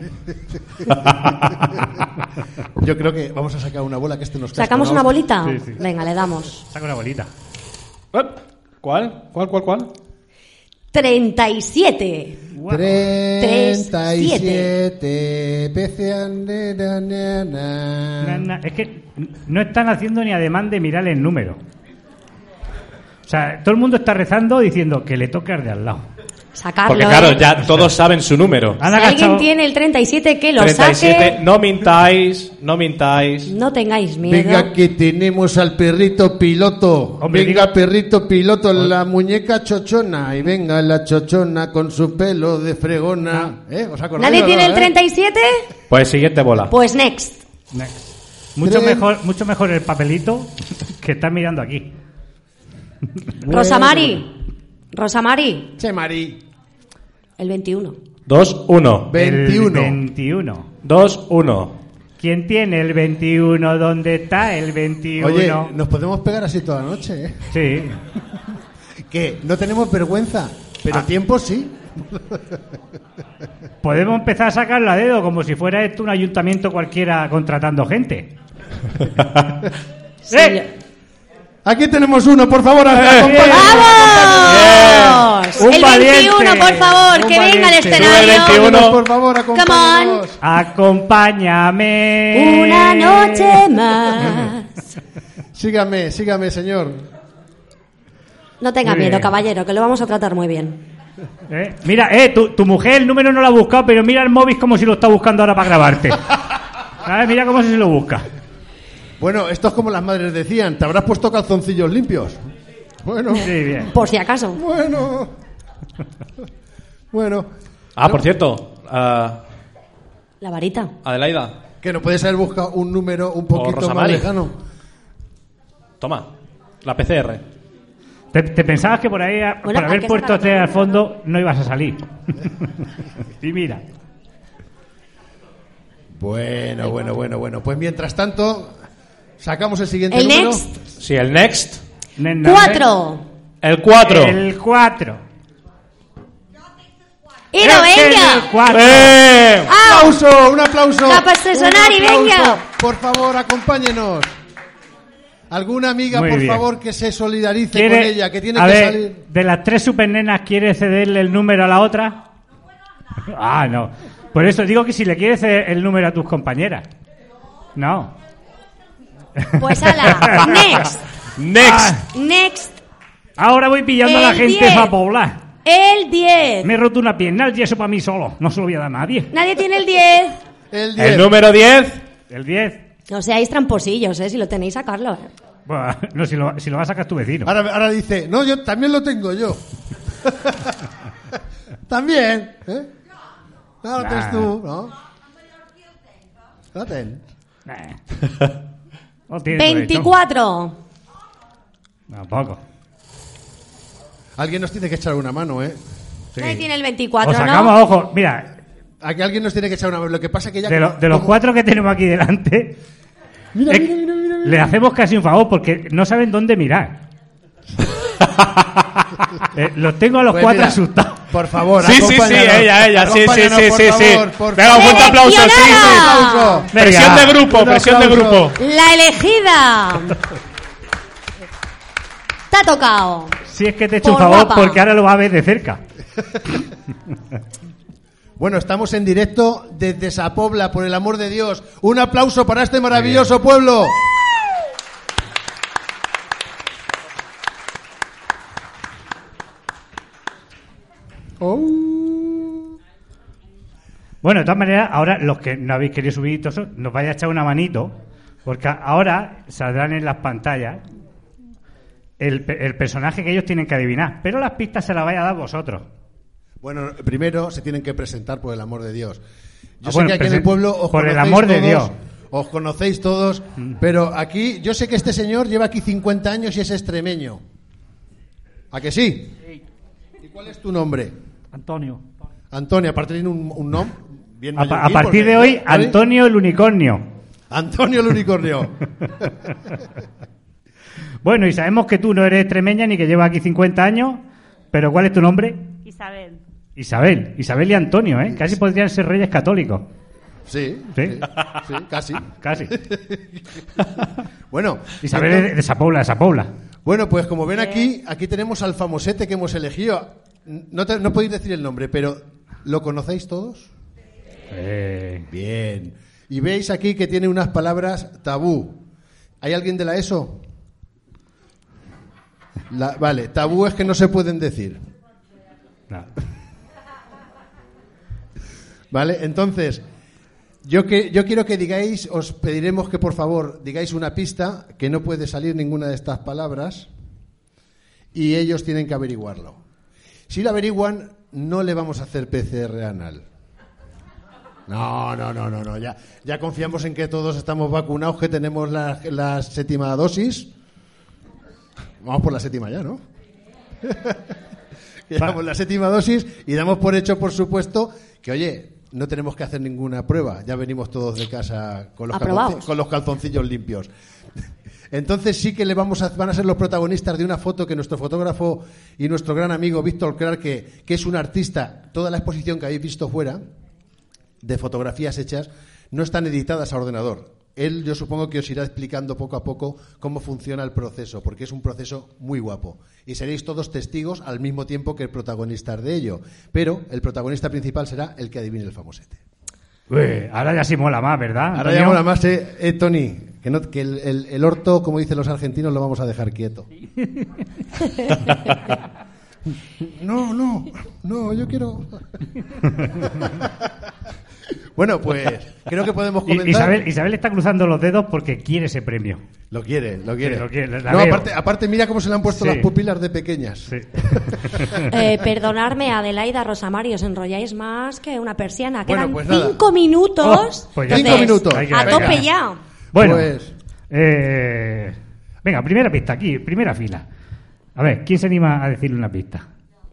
Yo creo que vamos a sacar una bola que este nos casca ¿Sacamos una hostia. bolita? Sí, sí. Venga, le damos. Saca una bolita. Eh, ¿Cuál? ¿Cuál, cuál, cuál? treinta y siete. treinta y siete veces na, na, na. Na, na, Es que no están haciendo ni ademán de mirar el número. O sea, todo el mundo está rezando diciendo que le toque al de al lado. Sacarlo. Porque claro, ¿eh? ya todos saben su número. Han Si alguien agachado- tiene el treinta y siete, que lo treinta y siete, saque. no mintáis, no mintáis. No tengáis miedo. Venga que tenemos al perrito piloto. Hombre, venga diga- perrito piloto, la muñeca chochona. Y venga la chochona con su pelo de fregona. ¿Eh? ¿Os acordáis ¿Nadie o tiene no, el eh? treinta y siete? Pues siguiente bola. Pues next. Next. Mucho Tres. mejor, mucho mejor el papelito que están mirando aquí. Bueno. Rosamari. Rosamari. Che, Mari. El veintiuno. dos uno. veintiuno. El veintiuno. dos uno. ¿Quién tiene el veintiuno? ¿Dónde está el veintiuno? Oye, nos podemos pegar así toda la noche, ¿eh? Sí. Que no tenemos vergüenza, pero Ah. tiempo sí. Podemos empezar a sacarla a dedo como si fuera esto un ayuntamiento cualquiera contratando gente. Sí. ¡Eh! Aquí tenemos uno, por favor. acompáñanos. ¡Vamos! Un el valiente. veintiuno, por favor, Un que venga al valiente. escenario. Sube el veintiuno. Por favor, acompáñanos. Acompáñame. Una noche más. Sígame, sígame, señor. No tenga Muy miedo, bien. caballero, que lo vamos a tratar muy bien. ¿Eh? Mira, eh, tu, tu mujer el número no lo ha buscado, pero mira el móvil como si lo está buscando ahora para grabarte. ¿Sabes? Mira cómo se lo busca. Bueno, esto es como las madres decían, ¿te habrás puesto calzoncillos limpios? Bueno, Sí, bien. Por si acaso. bueno. Bueno, Ah, por cierto, ah, La varita. Adelaida, que no puedes haber buscado un número un poquito más Rosamari. lejano. toma, la P C R. Te, te pensabas que por ahí, a- Bueno, por hay haber que puesto sacar tres al otro fondo, no ibas a salir. Y mira. Bueno, bueno, bueno, bueno. Pues mientras tanto, sacamos el siguiente El número. next. Sí, el next. Cuatro. El cuatro. El cuatro. ¡Y no Este es venga! el cuatro. ¡Eh! ¡Un aplauso! ¡Un aplauso! ¡La pasta sonar y Un aplauso. venga! Por favor, acompáñenos. ¿Alguna amiga, Muy por bien. favor, que se solidarice ¿Quiere- con ella, que tiene a que ver, salir? de las tres supernenas, ¿quiere cederle el número a la otra? Ah, no. Por eso digo que si le quieres ceder el número a tus compañeras. No. Pues ala, next. Next. Next. Ahora voy pillando a la El gente diez. para poblar. El diez. Me he roto una pierna, el yeso para mí solo. No se lo voy a dar a nadie. Nadie tiene el diez. El El número diez. El diez. No seáis tramposillos, ¿eh? Si lo tenéis, sacarlo. ¿eh? Bueno, no, si lo, si lo va a sacar tu vecino. Ahora, ahora dice, no, yo también lo tengo yo. También, ¿eh? No, lo tienes Nah. tú, ¿no? Lo ten. No tiene veinticuatro. derecho. Tampoco. Alguien nos tiene que echar una mano, ¿eh? Nadie tiene el veinticuatro, Os ¿no? sacamos, ojo, mira, Aquí alguien nos tiene que echar una mano. Lo que pasa que ya... de, lo- de los como- cuatro que tenemos aquí delante, Mira, es- mira, mira, mira, mira. le hacemos casi un favor porque no saben dónde mirar. Eh, los tengo a los Pues cuatro mira, asustados. Por favor, Sí, sí, sí, acompáñanos. ella, ella, sí, sí, Acompáñanos, sí, por sí, sí. favor, por Venga, un favor. fuerte aplauso, sí, sí. Aplauso. Venga. Presión de grupo, Un presión de aplauso. grupo. La elegida. Te ha tocado. Si es que te he hecho un Por favor guapa. porque ahora lo va a ver de cerca. Bueno, estamos en directo desde Sapobla, por el amor de Dios. Un aplauso para este maravilloso pueblo. Oh. Bueno, de todas maneras, ahora los que no habéis querido subir, todo eso, nos vaya a echar una manito, porque ahora saldrán en las pantallas el, pe- el personaje que ellos tienen que adivinar, pero las pistas se las vais a dar vosotros. Bueno, primero se tienen que presentar, por el amor de Dios. Yo Ah, sé bueno, que aquí en el presen- pueblo os por el conocéis amor de todos, Dios. os conocéis todos, pero aquí, yo sé que este señor lleva aquí cincuenta años y es extremeño. ¿A que sí? ¿Y cuál es tu nombre? Antonio. Antonio, aparte tiene un, un nombre bien A, pa- a mallorquín, partir porque- de hoy, ¿vale? Antonio el unicornio. Antonio el unicornio. Bueno, y sabemos que tú no eres extremeña ni que llevas aquí cincuenta años, pero ¿cuál es tu nombre? Isabel. Isabel. Isabel y Antonio, ¿eh? Casi podrían ser reyes católicos. Sí, ¿Sí? sí, sí, casi. Casi. Bueno, Isabel entonces- es de Sapobla, de Sapobla. Bueno, pues como ven aquí, aquí tenemos al famosete que hemos elegido. No, te- no podéis decir el nombre, pero ¿lo conocéis todos? Eh, Bien. Y veis aquí que tiene unas palabras tabú. ¿Hay alguien de la ESO? La- vale, tabú es que no se pueden decir. no. Vale, entonces, yo, que, yo quiero que digáis, os pediremos que por favor digáis una pista, que no puede salir ninguna de estas palabras, y ellos tienen que averiguarlo. Si lo averiguan, no le vamos a hacer P C R anal. No, no, no, no, no. Ya, ya confiamos en que todos estamos vacunados, que tenemos la, la séptima dosis. Vamos por la séptima ya, ¿no? Que Llevamos la séptima dosis y damos por hecho, por supuesto, que, oye, no tenemos que hacer ninguna prueba. Ya venimos todos de casa con los, Aprobados. calzonci- con los calzoncillos limpios. Entonces sí que le vamos a, van a ser los protagonistas de una foto que nuestro fotógrafo y nuestro gran amigo Víctor Clark, que, que es un artista, toda la exposición que habéis visto fuera, de fotografías hechas, no están editadas a ordenador. Él, yo supongo que os irá explicando poco a poco cómo funciona el proceso, porque es un proceso muy guapo. Y seréis todos testigos al mismo tiempo que protagonistas de ello. Pero el protagonista principal será el que adivine el famosete. Uy, ahora ya sí mola más, ¿verdad? Ahora Antonio? ya mola más, eh, eh, Tony, que, no, que el, el, el orto, como dicen los argentinos, lo vamos a dejar quieto. No, no, no, yo quiero... Bueno, pues creo que podemos I- comenzar. Isabel, Isabel está cruzando los dedos porque quiere ese premio. Lo quiere, lo quiere. Sí, lo quiere, la no, veo. aparte, aparte, mira cómo se le han puesto Sí. las pupilas de pequeñas. Sí. Eh, perdonadme, Adelaida, Rosamario, os enrolláis más que una persiana. Bueno, Quedan pues nada. cinco minutos. Oh, pues ya Cinco está. minutos. Hay que- A venga. tope ya. Bueno, Pues- eh, venga, primera pista aquí, primera fila. A ver, ¿quién se anima a decirle una pista?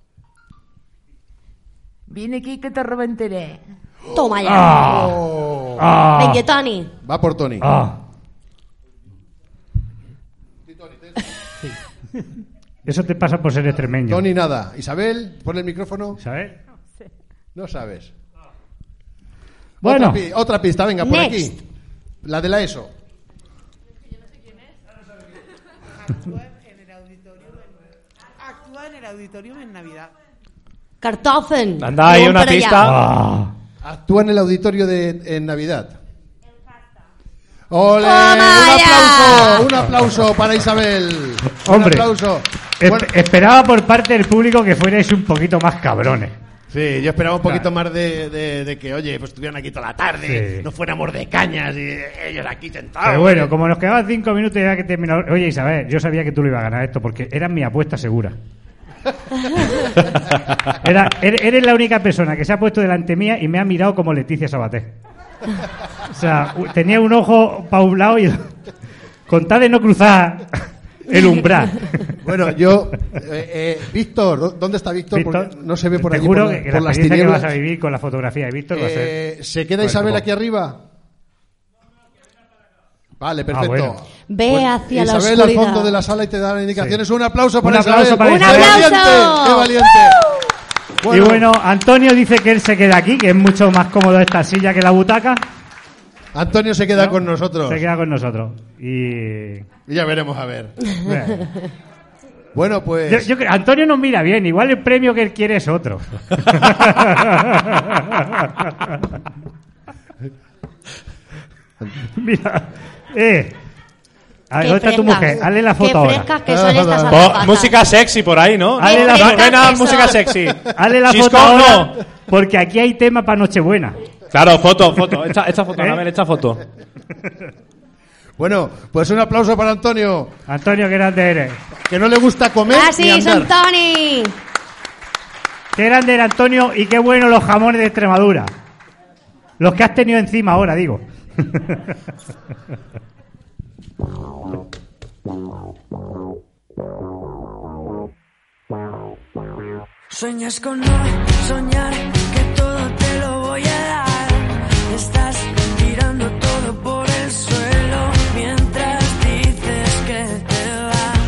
Viene aquí que te reventaré. Toma ya. Oh. Ah. Venga, Tony. Va por Tony. Ah. Eso te pasa por ser extremeño. Tony, nada. Isabel, pon el micrófono. ¿Sabes? No sabes. Bueno. Otra, pi- otra pista, venga, por Next. aquí. La de la ESO. Actúa en el auditorium en Navidad. Kartoffeln. Anda, hay Vamos una para allá. pista. Ah. Actúa en el auditorio de en Navidad. ¡Ole! ¡Toma ¡Un ya! aplauso! ¡Un aplauso para Isabel! Hombre. ¡Un aplauso! Es- Bueno, Esperaba por parte del público que fuerais un poquito más cabrones. sí, yo esperaba un poquito Claro. más de, de- de que, oye, pues estuvieran aquí toda la tarde, Sí. no fuéramos de cañas y ellos aquí sentados. Pero bueno, como nos quedaban cinco minutos ya que terminó. Oye, Isabel, yo sabía que tú lo ibas a ganar esto porque era mi apuesta segura. Era, er- eres la única persona que se ha puesto delante mía y me ha mirado como Leticia Sabater. O sea, u- tenía un ojo para un lado y el- con tal de no cruzar el umbral. Bueno, yo, eh, eh, Víctor, ¿dónde está Víctor? Víctor, Porque no se ve por te aquí juro por, la- que por la las experiencia que tinieblas. vas a vivir con la fotografía de Víctor va a ser. Eh, ¿Se queda Pues, Isabel como- aquí arriba? Vale, perfecto. bueno. Ve Pues, hacia la Isabel al oscuridad. fondo de la sala y te da las indicaciones. Sí. Un aplauso Un para aplauso Isabel. para ¡Un Isabel. ¡Qué aplauso! valiente! ¡Qué valiente! Y bueno, Antonio dice que él se queda aquí, que es mucho más cómodo esta silla que la butaca. Antonio se queda ¿No? con nosotros. Se queda con nosotros. Y. Y ya veremos a ver. Bueno. Bueno, pues. Yo, yo creo- Antonio nos mira bien, igual el premio que él quiere es otro. Mira, eh. A ver, Qué ¿dónde está tu frescas, mujer? Hazle la qué foto ahora. frescas que son estas Oh, azafatas. música sexy por ahí, ¿no? Hazle la no, foto. no hay nada de Eso. música sexy. Hazle la Chisco, foto ahora, no. porque aquí hay tema para Nochebuena. Claro, foto, foto. Echa, echa foto, ¿Eh? a ver, echa foto. Bueno, pues un aplauso para Antonio, Antonio, qué grande eres. que no le gusta comer Ah, ni sí, andar. son Tony. Qué grande era Antonio y qué bueno los jamones de Extremadura. Los que has tenido encima ahora, digo. Sueñas con no soñar que todo te lo voy a dar. Estás tirando todo por el suelo mientras dices que te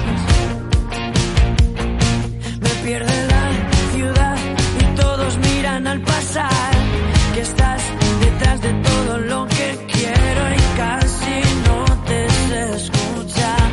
vas. Me pierde la ciudad y todos miran al pasar. Que estás detrás de todo lo que quiero y casi no te sé escuchar.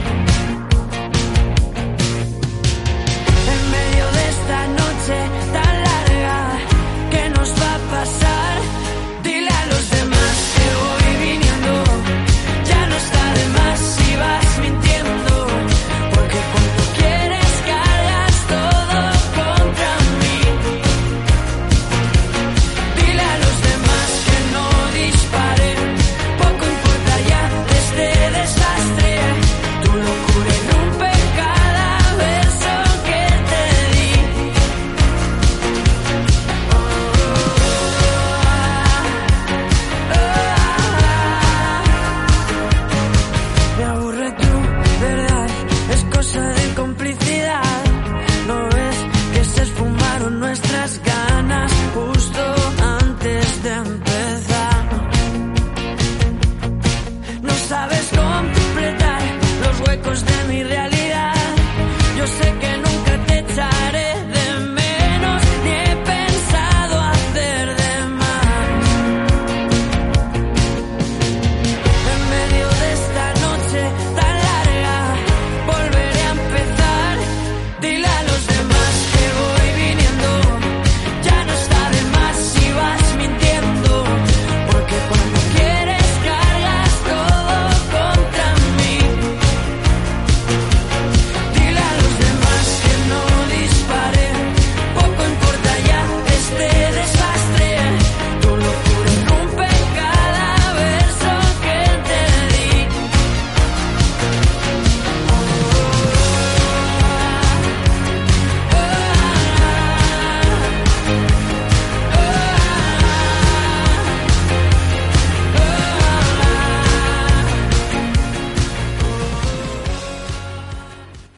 En medio de esta noche tan larga, ¿qué nos va a pasar? Dile a los demás que voy viniendo, ya no está de más si vas mintiendo, porque cuando quieres cargas todo contra mí. Dile a los demás que no disparen, poco importa ya de este desastre, tu locura irrumpe cada beso que te di. Me aburre tu verdad, es cosa de complicidad. No ves que se esfumaron nuestras ganas.